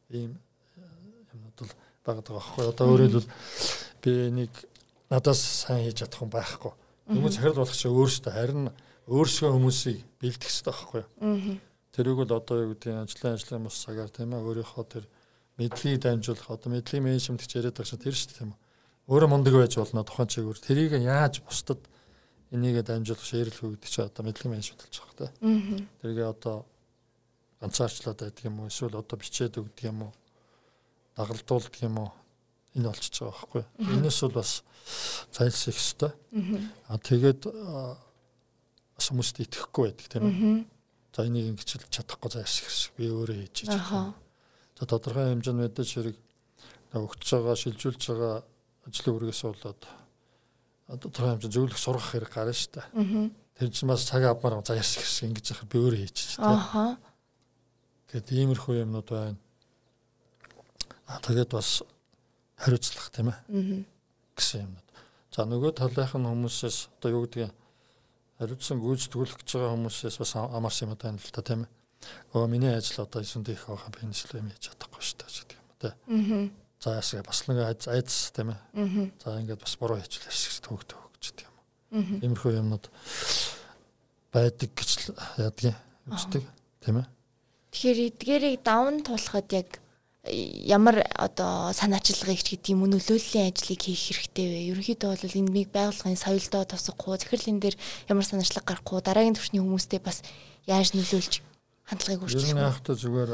ийм юмнууд бол байгаа байхгүй. Одоо өөрөлдвөл би нэг надаас сайн хийж чадах хүн байхгүй. Хүмүүс захирал болох чинь өөрсдөө харин өөрсгөө хүмүүсийг бэлдэх хэрэгтэй байхгүй. Тэрийг бол одоо юу гэдэг ажлын бус цагаар тийм ээ өөрийнхөө тэр мэдлэгийг дамжуулах одоо мэдлэгийн менежмент гэж яриад байгаа чинь тэр шүү дээ тийм үү. Өөрөө мундаг байж болно тухайн чигээр тэрийг яаж бусдад энийгээ дамжуулах шеэрлэх үү гэдэг чинь одоо мэдлэгийн менежмент болж байгаа тийм. Тэрийг одоо ганцаарчлаад байдаг юм уу эсвэл одоо бичээд өгдөг юм уу дагалдуулдаг юм уу энэ болчихж байгаа байхгүй. Энэс бол бас зайлсхийх хэрэгтэй. Тэгээд бас хүмүүст итгэхгүй байдаг тийм ээ. За энийг ингэж чадахгүй зайлсхийх шиг би өөрөө хийж байгаа. За тодорхой хэмжээнд мэдээж хэрэг өгч байгаа шилжүүлж байгаа ажлын үргээс болоод тодорхой хэмжээнд зөвлөх сургах хэрэг гарна шүү дээ. Тэр чинь бас цаг авмаар зайлсхийх шиг ингэж яхад би өөрөө хийж байгаа. Гэт иймэрхүү юмнууд байна. Тэгээд бас хариуцлах тийм ээ гэсэн юмнууд. За нөгөө талынхан хүмүүсээс одоо юу гэдгийг хариуцсан гүйцэтгүүлэх гэж байгаа хүмүүсээс бас амарсан юм байна л та тийм ээ. Миний ажил одоо эсэндээ их байгаа би энэ зүйл юм хийж чадахгүй шүү дээ гэдэг юм тийм. За ясаа бас нэг айдас тийм ээ. За ингээд бас буруу хийчихлээ шиг төгтөө гэж гэдэг юм. Иймэрхүү юмнууд байдаг гэж яадаг юм үздэг тийм ээ. Тэгэхээр эдгээрийг даван туулахад яг ямар одоо санаачилгыг ч гэдэг юм нөлөөллийн ажлыг хийх хэрэгтэй вэ? Ерөнхийдөө бол энэ миг байгууллагын соёлдоо тосохгүй, захирлын дээр ямар санаачлаг гарахгүй, дараагийн түвшний хүмүүстэй бас яаж нөлөөлж хандлагыг өөрчилөх вэ? Ер нь яахтай зүгээр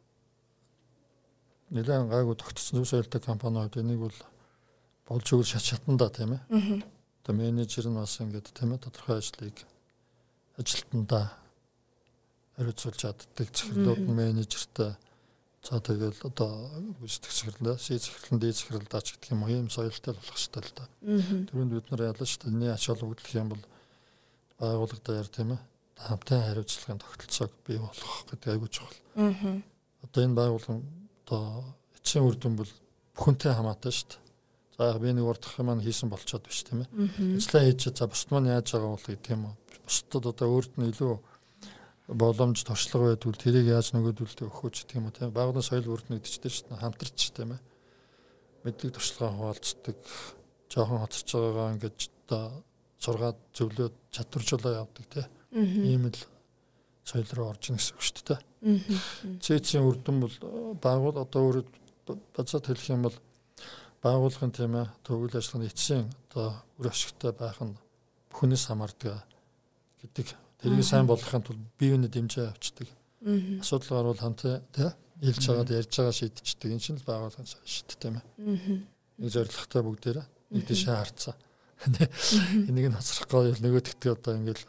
нэлээд гайгүй тогтцсон зөв соёлтой компаниуд энийг бол болж өгөх шатандаа тийм ээ. Одоо менежер нь бас ингээд тийм ээ тодорхой ажлыг ажилтнаа хариуцуулж чаддаг захирлууд нь менежертэй за тэгэл одоо гүйцэтгэх захирлаа, захирлын дээд захирлаа ч гэдэг юм уу ийм соёлтой болох хэрэгтэй л да. Түрүүнд бид нар ялла шүү дээ. Миний ач холбогдол юм бол байгууллага дээр тийм ээ хамтын хариуцлагын тогтолцоог бий болгох гэдэг айгүй чухал. Одоо энэ байгууллага одоо эцсийн үр дүн бол бүхэнтэй хамаатай шүү дээ. За би нэг урдах юм хийсэн болчоод биш тийм ээ. Ажлаа хийж за бусд маань яаж байгаа бол гэдэг юм уу. Бусдад одоо өөрт нь илүү боломж туршлага байдвал тэрийг яаж нөгөөдүүлдэг өгөхөж гэдэг юм уу тийм байгууллагын соёл бүрднэгдэж дээ шүү дээ хамтарч тийм ээ мэдлэг туршлагаа хуваалцдаг жоохон хоцорч байгаагаа ингэж одоо сургаад зөвлөөд чадваржуулаа явдаг тийм ийм л соёл руу орж ийн гэсэн үг шүү дээ цэцийн үрдэн бол байгуул одоо өөрөд бацаад хэлэх юм бол байгууллагын тийм ээ төвлөрөл ажиллагааны эцсийн одоо үр ашигтай байх нь бүхнээс хамаардаг гэдэг тэрийг сайн болгохын тулд биеийн дэмжээ авчдаг. Асуудал гарвал хамтаа хэлж байгаад ярьж байгаа шийдчихдэг. Энэ чинь л байгууллагын шийдэл тийм ээ. Нэг зорилготой бүгдээрээ нэг тийшээ харцаа. Энийг нь хацрахгүй нөгөөдөгтөө одоо ингээл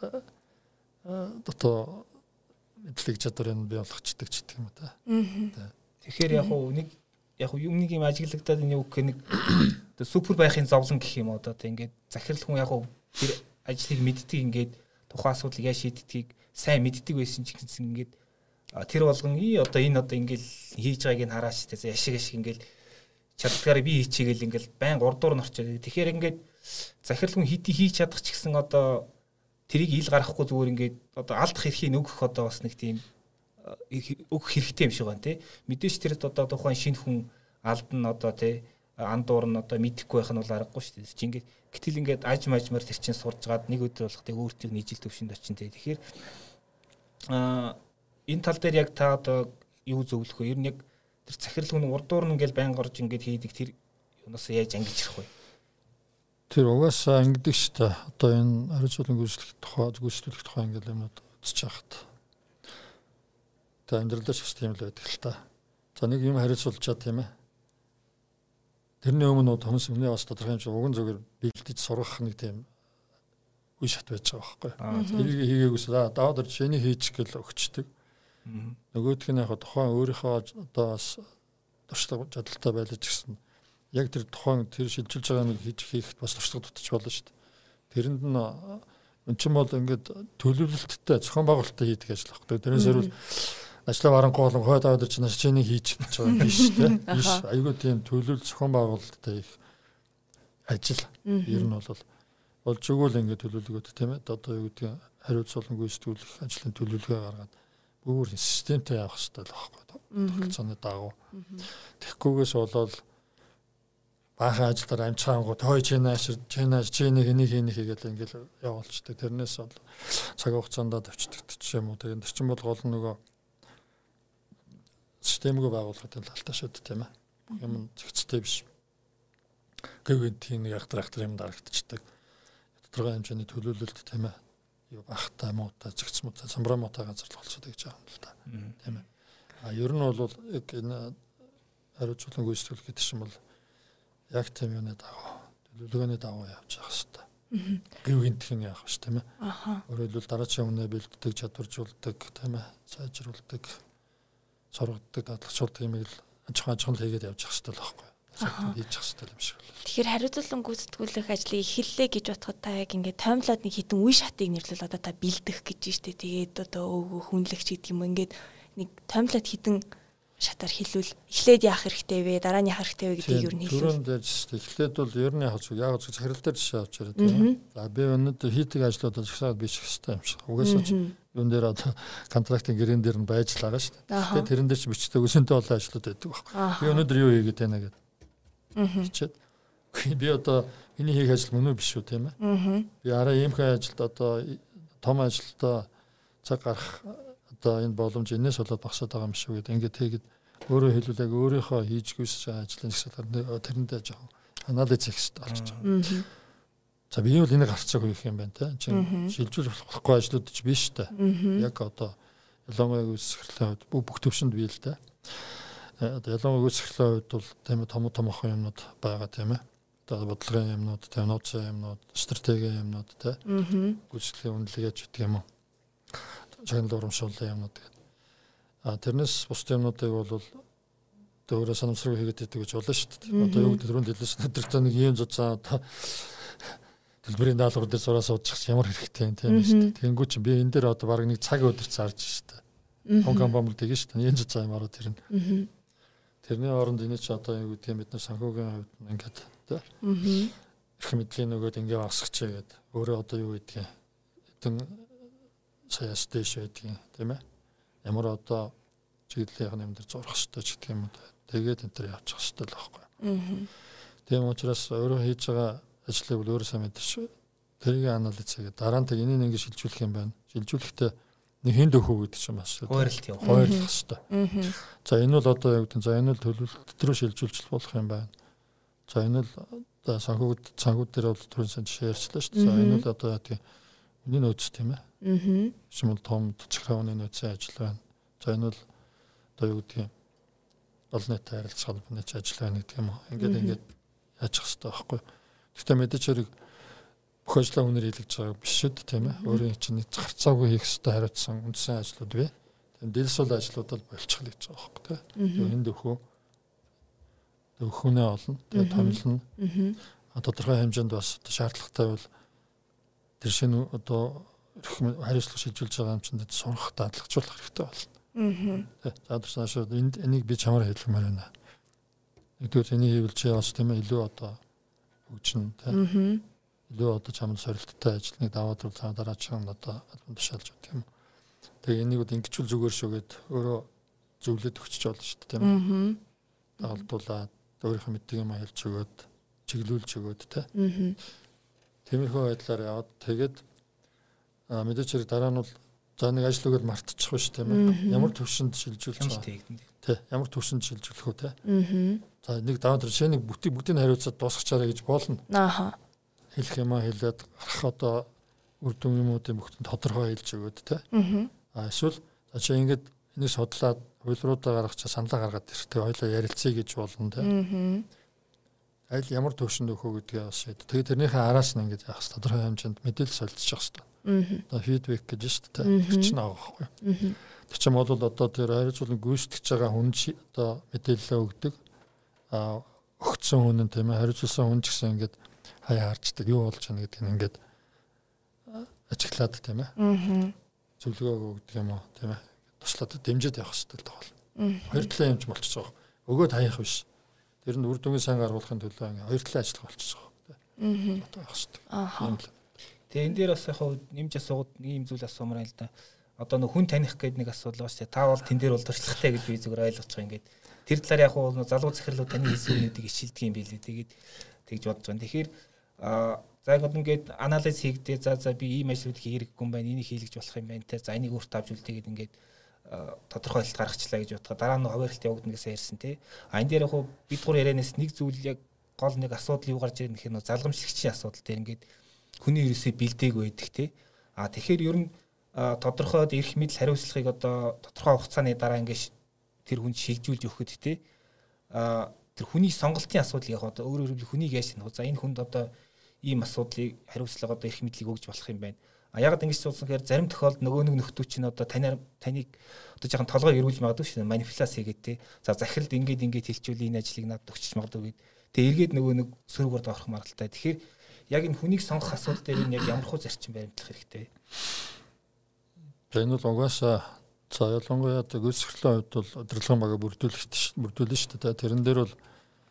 дотоо мэдлэг чадварыг бий болгочдөг ч гэдэг юм да. Тэгэхээр яг нэг юм ажиглагдаад энэ үг нэг супер байхын зовлон гэх юм одоо тийм ингээд захирал хүн яг тэр ажлыг мэддэг ингээд тухайн асуудлыг яаж шийддгийг сайн мэддэг байсан ч гэсэн ингээд тэр болгон одоо ингээл хийж байгааг нь хараач тэ яшиг ингээл чаддгаараа би хийчихээл ингээл байн урдуур нь орчоод. Тэгэхээр ингээд захирал хүн хийж чадах ч гэсэн одоо тэрийг ил гарахгүй зүгээр ингээд одоо алдах эрхийг өгөх одоо бас нэг тийм өгөх хэрэгтэй юм шиг байна тий. Мэдээж тэр одоо тухайн шинэ хүн алдна одоо тий андуур нь одоо мэдэхгүй байх нь бол аргагүй шүү дээ. Чи ингээд гэтэл ингээд аж мажмаар тэр чинь сурж гаад нэг өдөр болох тэг өөртөө нийжил төвшөнд очин тий. Тэгэхээр энэ тал дээр яг та одоо юу зөвлөх вэ? Ер нь яг тэр захирал хүн урдуур нь ингээл байн горж ингээд хийдэг тэр юунаас яаж ангиж ирэх вэ? Тэр угаасаа ангидаг шүү дээ. Одоо энэ хариуцлагын гүйцэтгэх тухай ингээл юмнууд үзэж хахад. Тэ амьдралдаа ч бас тийм л байдаг л та. За нэг юм хариуцуулж чад тийм ээ. Тэрний өмнө хүмүүс өмнө бас тодорхой хэмжээ уган зүгээр бэлдэж сургах нэг тийм үе шат байж байгаа байхгүй. Тэрийг хийгээгүйс даваад орж шиний хийчих гэл өгчдөг. Нөгөөх нь яг тухайн өөрийнхөө одоо бас туршлага чадaltaй байлж гисэн. Яг тэр тухайн тэр шилжүүлж байгаа нэг хийхэд бас туршлага дутчих болно шүү дээ. Тэрэнд нь энэ ч юм бол ингээд төлөвлөлттэй зохион байгуулалттай хийдэг ажил байхгүй. Тэрнээс хэрвэл ажлаа барангуй болон хойд аваад чинь чиний хийж гэж байгаа юм биш тийм биш айгүй тийм төлөвлөл зохион байгуулалттай их ажил ер нь болж өгвөл ингээд төлөвлөгөөд тийм ээ одоо юу гэдэг хариуцлагын гүйцэтгүүлэх ажлын төлөвлөгөө гаргаад бүр системтэй явах хэрэгтэй л байхгүй. Тогтцооны дагуу. Тэгэхгүйгээс болоод баахан ажиллаар амжихаангууд хой чинааш чинийг энийг хийгээл ингээл явуулчихдаг. Тэрнээс бол цаг хугацаанд авчдаг ч юм уу. Тэгээд тэр чинь бол гол нөгөө системгүй байгууллагын талтай шүү дээ, тийм ээ. Юм зэгцтэй биш. Гэвч тийм нэг ахтар юм дарагдчихдаг. Тодорхой хэмжээний төлөвлөлт, тийм ээ. Юу бахтай муутай зэгц муутай самбраа муутай газар л болцоод гэж байгаа юм л да. Тийм ээ. Ер нь бол яг энэ хариуцлага гүйцэтгэх гэдэг чинь бол яг тийм юуны дагуу төлөвлөгөөний дагуу явж байгаа хэвээр. Гэв гинтхэн яах вэ, тийм ээ. Өөрөөр хэлбэл дараачийн өмнө бэлддэг, чадваржуулдаг, тийм ээ. Сайжруулдаг, сургадаг, дадлгчулдаг юм ил ажхан хийгээд явж байгаа хэвээр л байхгүй. Сайхан хийж явах хэвээр юм шиг байна. Тэгэхээр хариуцлан гүйцэтгүүлэх ажлыг эхэллээ гэж бодоход та яг ингээд таймлаад нэг хитэн үе шатыг нэрлэл одоо та бэлдэх гэж штэ. Тэгээд одоо хүнлэгч гэдэг юм ингээд нэг таймлаад хитэн шатаар хэлвэл эхлээд яах хэрэгтэй вэ? Дараа нь яах хэрэгтэй вэ гэдгийг юу нь хэлвэл. Түрүүнд ярьжсэн. Эхлээд бол ер нь яг зөв захирал дээр жишээ авч яриад байна. За би өнөөдөр хийдэг ажлуудад ихсаад биш хэвээр юм шиг. Угаасаа ч юун дээр одоо контрактын гэрэн дээр нь байж л байгаа шүү дээ. Тэгээд тэрэн дээр ч бичдэг өсөнтэй олон ажлууд байдаг байхгүй. Би өнөөдөр юу хийгээд байна гэдэг. Хичээд. Би одоо миний хийх ажил мөн үү биш үү, тийм ээ. Би араа иймхэн ажилд одоо том ажилдаа цаг гарах одоо энэ боломж энэс болоод багасаад байгаа юм шиг гэдэг. Ингээд тэгээд өөрөө хэлвэл яг өөрийнхөө хийж гүйсэж байгаа ажлын хэсгээр тэрэндээ жоохон анализ хийх хэрэгтэй болчих жоо. За би бол энийг харцаагүй их юм байна те. Шилжүүлж болохгүй ажлууд ч биш та. Яг одоо ялангуяа үсгэрлээ бүх төвшөнд бий л те. Ялангуяа үсгэрлээ хувьд бол тийм том юмнууд байгаа тийм ээ. Одоо бодлогын юмнууд, тийм нууцын юмнууд, стратегийн юмнууд те. Гүйцэтгэлийн үнэлгээч гэдэг юм уу. Чанар урамшууллын юмнууд гэдэг. Тэрнээс бус юмнуудыг бол өөрө санамсруу хийгээд байдаг гэж болно шүү дээ. Одоо юу гэдэг түрүүнд хэлсэн өдөртөө нэг юм зузаан одоо төлбөрийн даалгавар дээр зураа суудчих ямар хэрэгтэй юм тийм шүү дээ. Тэнгүү чи би энэ дээр одоо баг нэг цаг өдөр зарж шүү дээ. Том компани тэгэн шүү дээ. Ийм зузаан юм ороод ирнэ. Тэрний оронд энэ ч одоо юу гэдэг юм бид нар санхүүгийн хувьд ингээд тийм их мэдлийн нөгөөд ингээ багсгач гэдэг. Өөрөө одоо юу гэдгийг хэдэн сая стэйш байдгийг тийм ээ. Ямар одоо чиглэлийн юм дээр зурх хэрэгтэй ч гэдэг юм уу. Тэгээд энэ төр явчих хэрэгтэй л байхгүй. Тийм учраас өөрөө хийж байгаа ажлыг бол өөрөө сайн мэдэрч тэрийг анализ хийгээд дараа нь энийг ингэ шилжүүлэх юм байна. Шилжүүлэхдээ нэг хэн дөхөө гэдэг чинь бас хойролт юм. Хойрлох хэрэгтэй. За энэ бол одоо яг гэдэг. За энэ бол төлөвлөлт рүү шилжүүлж болох юм байна. За энэ бол санхүүд дээр бол түрүүн сан жишээ ярьчлаа шүү дээ. За энэ бол одоо тийм үний нөөц тийм ээ. Шимэл том чиграуны нөөцийн ажил байна. За энэ бол одоо юу гэдэг юм олон нийтэд харилцах холбооны ажил байна гэдэг юм уу. Ингээд яачих хэрэгтэй байхгүй. Гэхдээ мэдээж хэрэг бүх ажлаа үнээр хийлгэж байгаа биш шүү дээ тийм ээ. Өөрийн чинь зарцаагүй хийх хэрэгтэй хариуцсан үндсэн ажлууд бай. Тийм дэлсүүл ажлууд бол болчих л гэж байгаа байхгүй тийм. Энд дөхөөнөө олно. Тэгээд томилно. Тодорхой хэмжээнд бас шаардлагатай бол тэр шинэ одоо хариуцлага шилжүүлж байгаа юм чинь сурах дадлгажуулах хэрэгтэй болно. За тэрсаашаа энийг би чамаар хэлмээр байна. Нэгдүгээр энийг хийвэл чи бас тийм ээ илүү одоо хөгжин тийм илүү одоо чамд сорилттой ажлыг даваад бол цаа дараагийн одоо тушаалж өгдөг юм. Тэгээ энийг бол ингэчүүл зүгээр шүүгээд өөрөө зөвлөд өгч болно шүү дээ тийм ээ. Дагалдуулаад өөрийнхөө мэддэг юм хэлж өгөөд чиглүүлж өгөөд тийм. Тиймэрхүү байдлаар яваад тэгээд мэдээж хэрэг дараа нь бол за нэг ажлыг мартчих биш тийм ээ. Ямар төвшөнд шилжүүлж байгаа. Тий. Ямар төвшөнд шилжүүлэх үү тий. За нэг даваа тэр шинийг бүгдийг хариуцаад дуусгачаарай гэж болно. Хэлэх юм хэлээд гарах одоо үр дүн юмуудын бүгд тодорхой хэлж өгөөд тий. Эсвэл чи ингэж энийг судлаад хуулиудаа гаргах чи саналаа гаргаад ирэх. Хоёлоо ярилцъя гэж болно тий. Аль ямар төвшөнд өгөх гэдгээ бас шийд. Тэгээд тэрнийхээ араас нь ингэж яах хэрэгтэй. Тодорхой хэмжээнд мэдээлэл солилцох хэрэгтэй. Одоо фидбек гэж шүү дээ. Тэр чинь байгаа байхгүй. Тэр чинь бол одоо тэр хариуцлага гүйцэтгэж байгаа хүн одоо мэдээлэл өгдөг. Өгцсөн хүн нь тийм ээ хариуцсан хүн ч гэсэн ингэж хаяа харчдаг юу болж байна гэдгийг ингээд ажиглаад тийм ээ. Зөвлөгөө өгдөг юм уу тийм ээ. Туслаад дэмжиж явах хэрэгтэй л тохиол. Хоёр талын юмч болчихж байгаа. Өгөөд хаях биш. Тэр нь үр дүнгийн сайн гаргуулахын төлөө ингээд хоёр талын ажиллах болчихж байгаа. Одоо явах хэрэгтэй. Тэгээ энэ дээр бас яг нэмж асуугаад нэг юм зүйл асуумаар л да. одоо нэг хүн таних гэдэг нэг асуудал байна шүү дээ. Та бол тэн дээр бол туршлагатай гэж би зүгээр ойлгож байгаа. Ингээд тэр талаар яг хуу залуу захирлууд таны хийсэн үнүүдийг ишилдэг юм билээ. Тэгээд тэгж бодож байгаа. Тэгэхээр за ингээд анализ хийгдээ за би ийм ажлуудыг хийрэггүй юм байна. Энийг хийлгэж болох юм байна. Тэ за энийг өөртөө авч үлдээгээд ингээд тодорхой ойлголт гаргачлаа гэж бодоход дараа нь хаваарилт явагдана гэсэн ярьсан тий. Энэ дээр яг хуу бид гур ярианаас нэг зүйл яг гол нэг асуудал юу гарч ирэх нь залгамжлагчийн асуудал дээр ингээд хүний ерөөсөө бэлдээг байдаг тий. Тэгэхээр ер нь тодорхойд эрх мэдэл хариуцлагыг одоо тодорхой хугацааны дараа ингээд тэр хүнд шилжүүлж өгөхөд тий. Тэр хүний сонголтын асуудлыг яг одоо өөрөөр хэлбэл хүнийг яаж таних вэ? За энэ хүнд одоо ийм асуудлыг хариуцлага одоо эрх мэдлийг өгж болох юм байна. Ягаад ингэж суудсан гэхээр зарим тохиолдолд нөгөө нэг нөхдүүд чинь одоо таныг одоо жоохон толгой эрүүлж магадгүй шүү дээ. Манипуляц хийгээд тий. За захиралд ингээд хэлчихвэл энэ ажлыг надад өгчих магадгүй гэд. Тэгээ эргээд нөгөө нэг сөргөөр доорох маргалтай. Тэгэхээр яг энэ хүнийг сонгох асуудал дээр энэ яг ямар хөө зарчим баримтлах хэрэгтэй. Энэ бол угаасаа за ялангуяа гүйцэтгэлийн хувьд бол удирдлагын багаа бүрдүүлнэ шүү дээ. Тэрэн дээр бол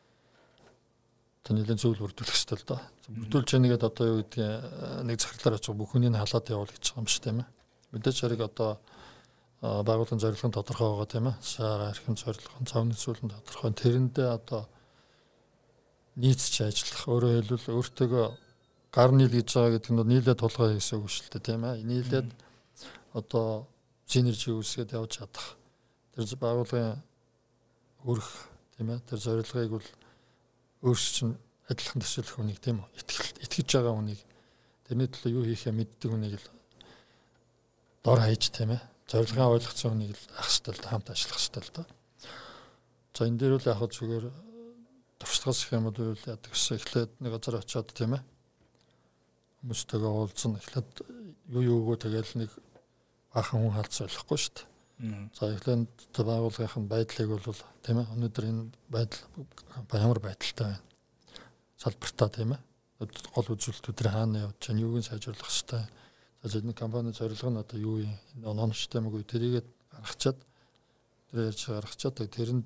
тэнийг зөвл бүрдүүлэх хэрэгтэй л доо. Бүрдүүлж яагаад одоо юу гэдгийг нэг захирлаар очих бүх хүнийг халаад явуул гэж байгаа юм шүү дээ. Мэдээж хэрэг одоо байгууллагын зорилго тодорхой байгаа тийм ээ. Сара эрхэм зорилго, цаавны зүйлэн тодорхой. Тэрэндээ одоо нийцж ажиллах, өөрөөр хэлбэл өөртөөгөө гар нийл гэж байгаа гэдэг нь нийлээд тулгай гэсэн үг шүү дээ тийм ээ. Нийлээд одоо синержи үүсгээд явж чадах. Тэр байгууллагын өрх тийм ээ. Тэр зорилгыг бол өөрсдөө адилхан төсөөлөх хүнийг тийм үү итгэж байгаа хүнийг тэрний төлөө юу хийхээ мэддэг хүнийг л дор хаяж тийм ээ зорилгоо ойлгоцсон хүнийг л ах хэвэл хамт ажиллах хэвэл та. За энэ дээр бол яг зүгээр туршлагаас их юм бол яадаг гэсэн эхлээд нэг газар очиод тийм ээ хүмүүстэйгээ уулзсан эхлээд юу тэгэл нэг баахан хүн халдсан болохгүй шүү дээ. За эхлээд байгууллагын байдлыг бол тийм ээ өнөөдөр энэ байдал ямар байдалтай байна. Салбартаа тийм ээ гол үзүүлэлтүүд хаана явж байна, юуг нь сайжруулах хэрэгтэй. За энэ компани зорилго нь одоо юу юм? Оноончтой юм уу? Тэрийгээ гаргачаад тэр ярьж гаргачаад тэрэнд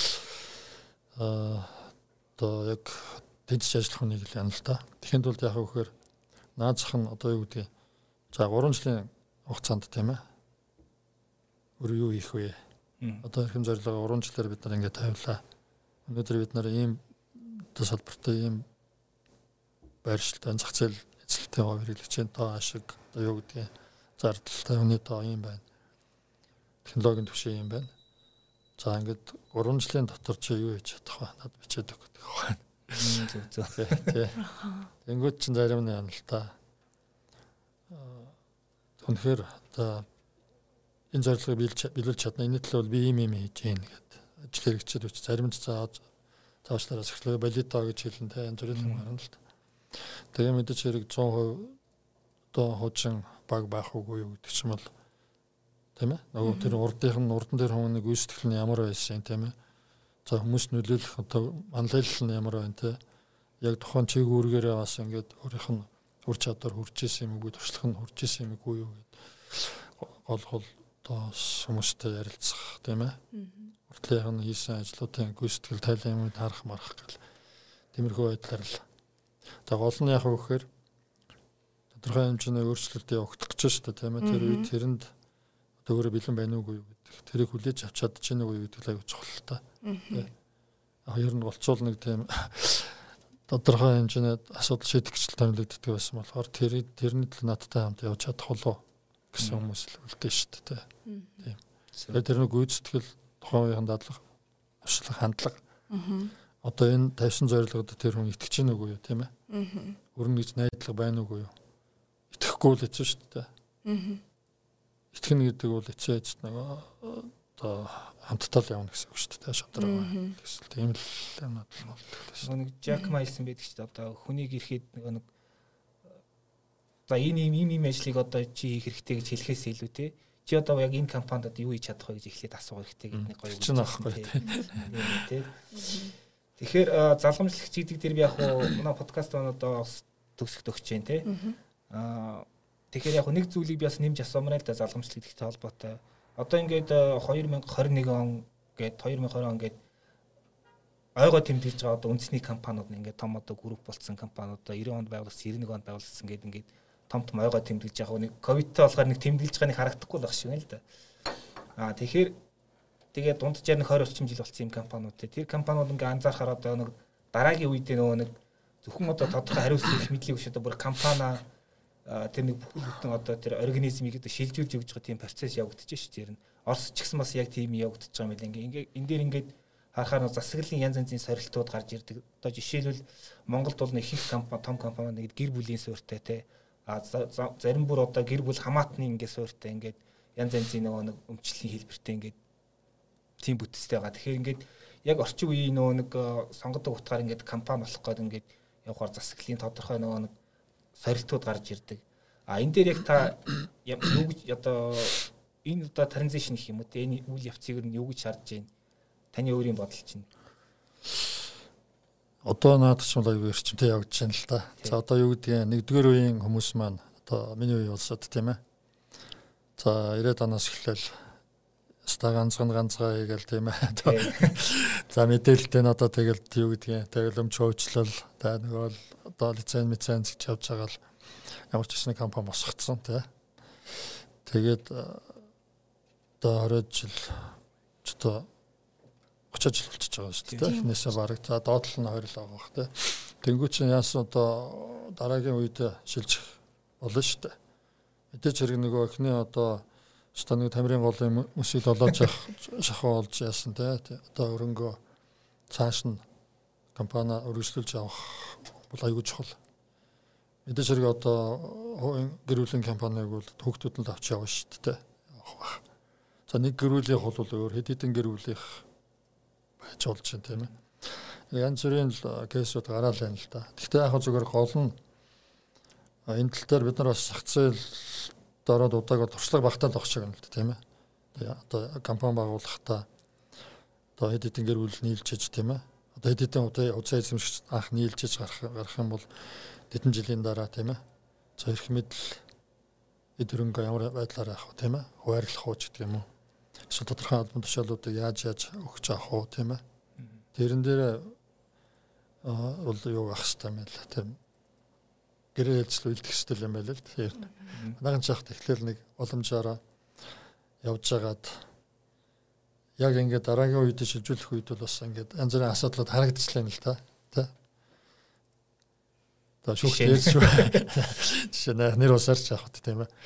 одоо яг дэжиж ажиллах хүнийг л яана л та. Тэгэхэд бол яг вөхөр наад зах нь одоо юу гэдгийг за 3 жилийн хугацаанд тийм ээ өөр юу хийх вэ? Одоо эрхэм зорилгоо 3 жилээр бид нар ингээд тавилаа. Өнөөдөр бид нар ийм салбартай ийм байршилтай зах зээл эзлэлтэй хэрэглэгчийн тоо ашиг одоо юу гэдгийг зардалтай хүний тоо юм байна. Технологийн түвшин юм байна. За ингээд 3 жилийн дотор чи юу хийж чадах вэ? Над бичээд өгөх гэдэг байна. Зөв. Тэнгүүд чинь зарим нь яана л та. Үнэхээр одоо энэ зорилгыг биелүүлж чадна. Энэ төлөө би ийм хийж гин гэдэг. Ажил хэрэгчид үуч зарим нь цаашлаараас эхлэе балидо гэж хэлэн тэ энэ зүйл юм гарна л та. Тэгээ мэдээж хэрэг 100% одоо хожин баг байх үгүй юу гэдэг чинь бол тийм ээ. Нөгөө тэр урдан дээр хүмүүний гүйцэтгэл нь ямар байсан тийм ээ. За хүмүүс нөлөөлөх одоо манлайлал нь ямар байна те. Яг тухайн чиг үүргээрээ бас ингээд өөрийнх нь үр чадвар хүрч исэн юм уу, туршлага нь хүрч исэн юм уу гэд гол одоо хүмүүстэй ярилцах тийм ээ. Уртлынх нь хийсэн ажлуудын гүйцэтгэл тайлан юмуд харах марах гэл. Тиймэрхүү байдлаар л. За гол нь яг өгөхээр тодорхой хэмжээний өөрчлөлт явагдах гэж шүү дээ тийм ээ. Тэр үед тэрэнд одоо өөрөө бэлэн байна уугүй юу гэдэг. Тэрийг хүлээж авч чадчихна уу гэдэг л аюул чухал л та. Хоёр нь болцоол нэг тийм тодорхой хэмжээний асуудал шийдэгчл томилогддог байсан болохоор тэрний төлөө надтай хамт явж чадах болов гэсэн хүмүүс л үлдээ шүү дээ. Тийм. Тэр нэг гүйцэтгэл тухайн үеийн дадлага, туршлага, хандлага. Одоо энэ тавьсан зорилгод тэр хүн итгэж гин үгүй юу, тийм ээ? Өрнө гэж найдлага байна уугүй юу? Итгэхгүй л хэцүү шүү дээ. Итгэнэ гэдэг бол эцээ эцэд нэг одоо хамтдаа л явна гэсэн үг шүү дээ. Шатраа. Тэгсэл тийм л юмнууд л болдог. Нэг Жак Ма хэлсэн байдаг шүү дээ. Одоо хүнийг ирэхэд нэг за ийм ажлыг одоо чи хийх хэрэгтэй гэж хэлэхээс илүү те. Чи одоо яг энэ компанид юу хийж чадах вэ гэж эхлээд асуух хэрэгтэй гэдэг нэг гоё үг байна те. Тэгэхээр залгамжлагч гэдэг дээр би яг манай подкаст одоо төгсөлт өгч जैन те. Тэгэхээр яг нэг зүйлийг би бас нэмж асуумаар л да залгамжлал гэдэгтэй холбоотой. Одоо ингээд 2021 он гээд 2020 он гээд ойгоо тэмдэглэж байгаа одоо үндэсний компаниуд ингээд том одоо групп болцсон компаниуд 90 онд байгуулсан 91 онд байгуулсан гээд ингээд том ойгоо тэмдэглэж яг нэг ковидтэй болохоор нэг тэмдэглэж байгаа нэг харагдахгүй байх шиг байна л да. Тэгэхээр тэгээд дунджаар нэг 20 орчим жил болсон юм компаниуд тэр компаниуд ингээ анзаарахаар одоо нэг дараагийн үед нөгөө нэг зөвхөн одоо тодорхой хариуцлага их мэдлэг биш одоо бүр компани тэр нэг бүхэл бүтэн одоо тэр организмыг одоо шилжүүлж өгч байгаа тийм процесс явагдаж шүү дээ. Орос ч гэсэн бас яг тийм явагдаж байгаа юм байна. Ингээ энэ дээр ингээд харахаар засаглалын янз янзын сорилтууд гарч ирдэг. Одоо жишээлбэл Монголд бол нэг их компани, том компани нэг гэр бүлийн суурьтай те. Зарим бүр одоо гэр бүл хамаатны ингээ суурьтай ингээд янз янзын нөгөө нэг өмчлөлийн хэлбэртэй ингээд тийм бүтцтэй байгаа. Тэгэхээр ингээд яг орчин үеийн нөгөө нэг сонгодог утгаар ингээд компани болох гээд ингээд явахаар засаглалын тодорхой нөгөө нэг сорилтууд гарч ирдэг. Энэ дээр яг та юу гэж одоо энэ одоо транзишн гэх юм уу те энэ үйл явцыг нь юу гэж харж байна? Таны өөрийн бодол чинь. Одоо наад ч бол аюу эрчимтэй явж байна л да. За одоо юу гэдгийг нэгдүгээр үеийн хүмүүс маань одоо миний үе болсод тийм ээ. За 90-аад оноос эхлээл ста ганцгаа хийгээл тийм ээ. За мэдээлэлтэй нь одоо тэгэл юу гэдгийг тэгэл өмч хөөчлөл та нөгөө одоо лиценз гэж явж байгаа л ямар ч гэсэн компани босгоцсон тийм. Тэгээд одоо 20 жил одоо 30 жил болчихж байгаа шүү дээ. Эхнээсээ бараг за доотлол нь 2 л байгаа бах тий. Тэнгүү чинь яасан одоо дараагийн үед шилжих болно шүү дээ. Мэдээж хэрэг нөгөө эхний одоо станыг тамирын голын мөсийг долоож шахуу олж яасан тий. Одоо өрөнгөө цааш нь компани өргөжлүүлж авах бол аюул чухал. Мэдээж хэрэг одоо гэр бүлийн компаниг бол хүүхдүүд нь авч явна шүү дээ. За нэг гэр бүлийнх бол өөр хэд хэдэн гэр бүлийнх байж болж байна тийм ээ. Янз бүрийн кейсүүд гараал байна л да. Гэхдээ яг зүгээр гол нь энэ тал дээр бид нар бас зах зээл дороод удааг туршлага багтаал авах шиг юм л да тийм ээ. Тэгээ одоо компани байгуулахдаа одоо хэд хэдэн гэр бүл нийлжиж тийм ээ. Одоо хэд хэдэн удаа эзэмшигч анх нийлжиж гарах юм бол хэдэн жилийн дараа тийм ээ. За эрх мэдэл эд хөрөнгө ямар байдлаар авах вэ тийм ээ. Хуваарлах уу гэдэг юм уу. Эсвэл тодорхой албан тушаалуудыг яаж өгч авах уу тийм ээ. Тэрэн дээр бол юу ах хэвээр юм л тийм гэрээ хэлцэл үлдэх хэвээр юм байл л тийм. Манайхан ч яхад эхлээл нэг боломжоор явж байгаад яг ингээд дараагийн үед шилжүүлэх үед бол бас ингээд янз бүрийн асуудлууд харагдчихлаа л та тийм. Одоо шүүхтээс шүү. Жишээ нь нэр усаарч явах тийм ээ.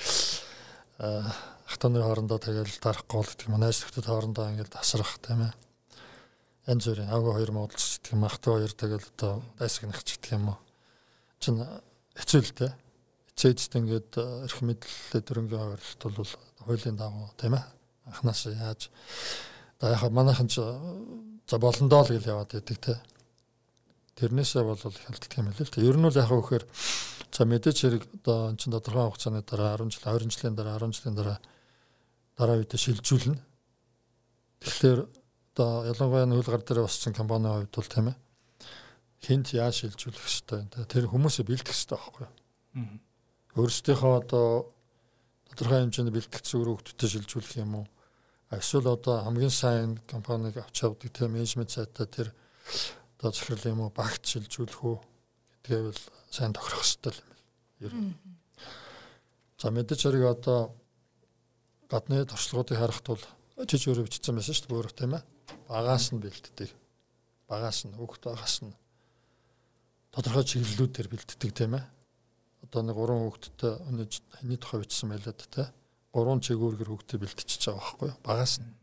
Хатаны хоорондоо тэгэл дарахгүй бол гэдэг юм. Найз нөхдөд хоорондоо ингээд тасрах тийм ээ. Янз бүрийн агуу хоёр муудалч гэдэг юм. Ахтай хоёр тэгэл одоо дайсагнах ч гэдэг юм уу. Чин хэцүү л дээ. Хэцээдтэй ингээд эрх мэдлэлээ дөрөнгөө хуваарлалт бол хуулийн дагуу тийм ээ. Анханаас яаж одоо яг манайхан ч за болондоо л гэл яваад байдаг тийм. Тэрнээсээ бол хялтдаг юм л л. Ер нь бол яг вөхөр за мэдээж хэрэг одоо энэ чинь тодорхой хугацааны дараа 10 жил 20 жилийн дараа 10 жилийн дараа үед шилжүүлнэ. Тэгэхээр одоо ялангуяа нөл гар дээр боссон компанийн хувьд бол тийм ээ. Хинт яаж шилжүүлэх хэрэгтэй вэ? Тэр хүмүүсээ бэлдэх хэрэгтэй байхгүй юу? Өөрсдийнхөө одоо тодорхой хэмжээний бэлтгэц зүгээр хөгтөд шилжүүлэх юм уу? Эсвэл одоо хамгийн сайн компаниг авч явдаг тийм менежмент сайтай тэр одоо захирал юм уу багт шилжүүлэх үү гэдгээ бол сайн тохирох хэрэгтэй юм байна. Ер нь. За мэдээж хэрэг одоо гадны туршлагуудыг харахад бол жиж өөрөө бичсэн байсан шүү дээ өөрөө тийм ээ. Багаас нь бэлддэг. Багаас нь хүүхд багаас нь тодорхой чиглэлүүдээр бэлддэг тийм ээ. Одоо нэг 3 хүүхдтэй хэний тухай бичсэн байлаа тийм ээ. 3 чигүүргэр хүүхдэд бэлтчихэж байгаа байхгүй юу? Багаас нь.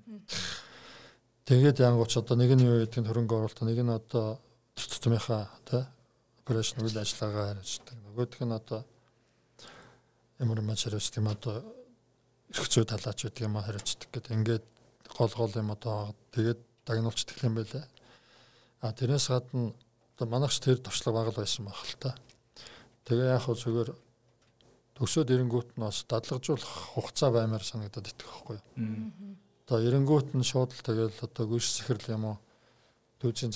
Тэгээд янгууч одоо нэг нь юу гэдгийг хөрөнгө оруулалт нэг нь одоо тутмынхаа тий операшн үйл ажиллагаа хариуцдаг. Нөгөөх нь одоо ямар юм хариуцдаг юм одоо эрх зүй талаач гэдэг юм хариуцдаг гэдэг. Ингээд гол юм одоо тэгээд дагнуулцдаг юм байлаа. Тэрнээс гадна одоо манайхч тэр туршлага бага байсан байх л та. Тэгээ яг хөө зүгээр төгсөөд ирэнгүүт нь бас дадлагжуулах хугацаа баймаар санагдаад идэх байхгүй юу. Одоо эренгүүт нь шууд л тэгэл одоо гүйс захирал юм уу түүжийн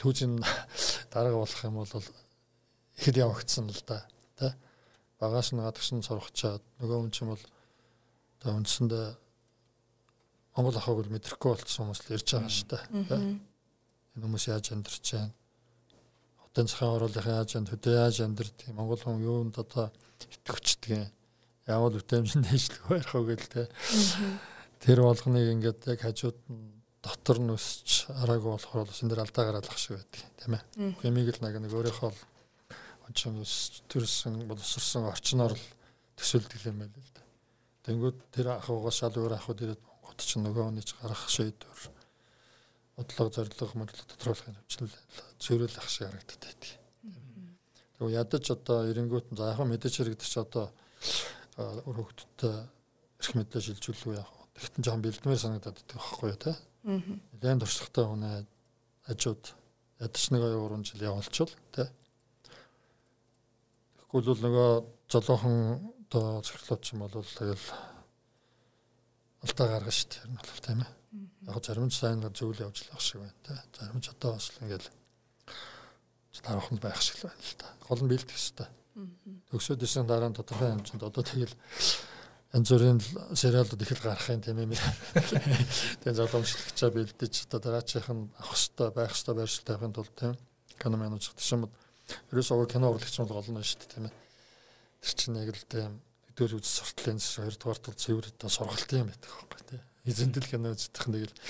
дарга болох юм бол ихэд явагдсан л да тий багаас нь гадагш нь сурахчаад нөгөө хүн чинь бол одоо үндсэндээ Монгол ахыг л мэдрэхгүй болчихсон хүмүүс л ирж байгаа шүү дээ тий энэ хүмүүс яаж амьдарч байна хотын цагаан оруулахын ажинд хөдөө яаж амьдрэх Монгол хүн юунд одоо итгэвчдэг яавал үтэмжинд дэвшлэх байх уу гэлтэй. Тэр болгоныг ингээд яг хажууд нь дотор нь өсч араагүй болохоор бас энэ дэр алдаа гаргалах шиг байдаг тийм ээ. Хэмиг л нэг өөрийнхөө онцон өсч төрсөн боловсрсон орчноор л төсөөлдөг юм байл л да. Тэнгүүд тэр ахуйгаас шал өөр ахуйд ирээд Монгол ч нөгөө хүнийч гарах шийдвэр бодлого зорилго мөрлөг тодорхойлохын хэмжлэл зөвлөл ах шиг харагдаад байдаг. Тэгээ ядаж одоо эренгүүт за яг мэдээж хэрэгдэж ч одоо хөгтөд эрх мэдлээ шилжүүлэх яг тэгтэн жоохон бэлдмээр санагдаад байдаг байхгүй юу те. Нэлээд туршлагатай хүн хажууд ядаж нэг 2 жил явуулчихвал те. Тэгвэл бол нөгөө золоохон одоо цэглэлч юм бол тэгэл алдаа гаргана шүү дээ. Энэ бол тийм ээ. Яг зарим ч сайн зөвлө явж л байх шиг байна те. Зарим ч одоо бас ингээл дараахан байх шиг байна л да. Гол нь бэлдэх хэрэгтэй. Төгсөөд исэн дараа нь тодорхой хэмжээнд одоо тэгэл янз бүрийн сериалууд их л гарах юм тийм ээ. Тэгээ залуучлагчаа бэлдэж одоо дараачих нь авах хэрэгтэй байх хэрэгтэй байршил тавихын тулд тийм кино менеж гэсэн юм. Ерөөсөө кино урлагч нь гол нь шүү дээ тийм ээ. Тэр чинь яг л тийм хэдүүл үз суртлын 2 дугаар тал цэвэр одоо сургалт юм байдаг байхгүй тийм. Эзэндэл кино үзэх нэг л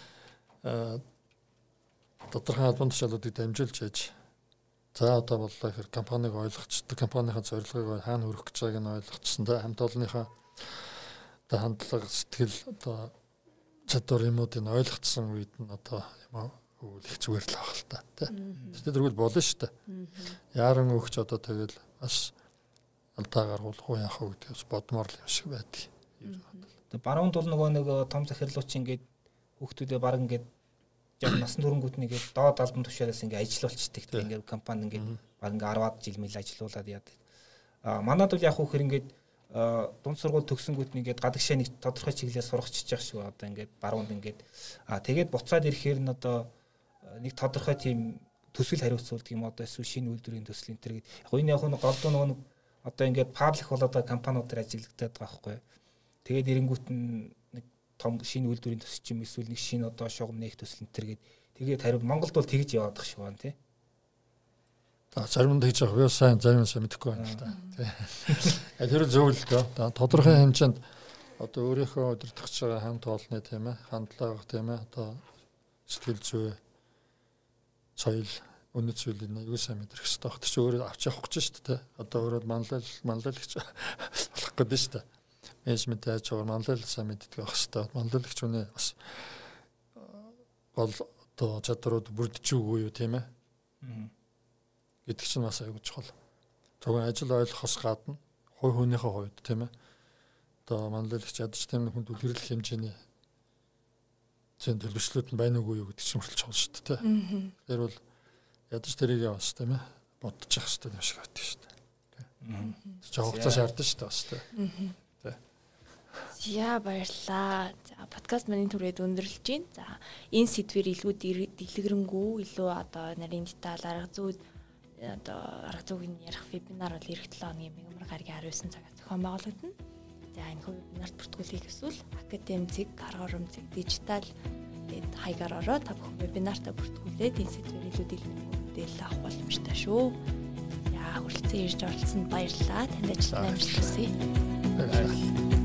тодорхой албан тушаалуудыг дамжуулж яаж за одоо боллоо ихэр компаниг ойлгочтой компанийн зорилгыг хаана хүрэх гэж байгааг нь ойлгоцсон да хамт олонныхаа одоо хандлага сэтгэл одоо чадвар юмуудыг ойлгоцсон үед нь одоо юм уу их зүгээр л байх л та тийм. Тэгвэл болно шүү дээ. Яран өгч одоо тэгэл бас алдаа гаргуулах уу яах вэ гэдгээс бодмоор л юм шиг байдаг. Тэгээ баруунд бол нөгөө нэг том захирлууч ингээд хүүхдүүдээ баг ингээд яг насан туршингууд нэгээд доод албан тушаалаас ингээд ажиллуулчихдаг. Тэгээ ингээд компани ингээд баг ингээд 10-аад жил мэл ажиллуулад яадаг. Манайд бол яг хөхөр ингээд дунд сургууль төгсөнгүүд нэгээд гадагшаа нэг тодорхой чиглэлээр сурахчиж явах шиг одоо ингээд баруунд ингээд тэгээд буцаад ирэхээр нь одоо нэг тодорхой тийм төсөл хариуцуулдаг юм одоо эсвэл шинэ үйлдвэрийн төсөл энэ төр гээд яг энэ яг голдуу нөгөө одоо ингээд паблик болоод компаниудаар ажиллагдаад байгаа байхгүй. Тэгээд эренгүүт нь нэг том шинэ үйлдвэрийн төсөл юм эсвэл нэг шинэ одоо шугам нээх төсөл энэ төр гээд тэгээд хариу Монголд бол тэгж яваад байгаа шиг байна тий. Зарим нь тэгж явах сайн зарим нь мэдэхгүй байна л да. Тий. Тэр зөв л дөө. Тодорхой хэмжээнд одоо өөрийнхөө удирдахж байгаа хамт олонны тийм ээ хандлага тийм ээ одоо сэтгэл зүй соёл үнэт зүйлийг аюул сайн мэдрэх хэрэгтэй баг. Тэр чинь өөрөө авч явах гэж шүү дээ. Одоо өөрөө манлайлагч болох гэдэг шүү дээ. Менежмент яаж байгаа манлайлал сайн мэддэг байх хэрэгтэй. Манлайлагч үнэ бас гол одоо чадрууд бүрдэж үгүй юу тийм ээ. Гэдэг чинь бас аюул чухал. Зөвхөн ажил ойлгохоос гадна хувь хүнийхээ хувьд тийм ээ. Одоо манлайлагч ядаж тийм хүнд үлгэрлэх хэмжээний зэн төлөвчлөлт нь байна уугүй юу гэдэг чинь хүртэл чухал шүү дээ. Тэр бол ядаж тэрийг яваас тийм ээ бодчих хэрэгтэй юм шиг байдаг шүү дээ. Тэр хугацаа шаардсан шүү дээ бас тийм. Яа баярлаа. За подкаст маань түрээд өндөрлөж байна. За энэ сэдвэр илүү дэлгэрэнгүй илүү одоо нарийн деталь арга зүй одоо арга зүйн ярих вебинар бол эх 7 хоногийн мегамар гарагийн 19 цагаас зохион байгуулагдана. За энэ вебинарт бүртгүүлэх эсвэл академик, арга урамцэг, дижитал тэгээд хаягаар ороод та бүхэн вебинартаа бүртгүүлээд энэ сэдвэр илүү дэлгэрэнгүй мэдээлэл авах боломжтой шүү. За хүрэлцэн ирж оролцсонд баярлалаа. Танд ажилтны амжилт хүсье. Баярлалаа.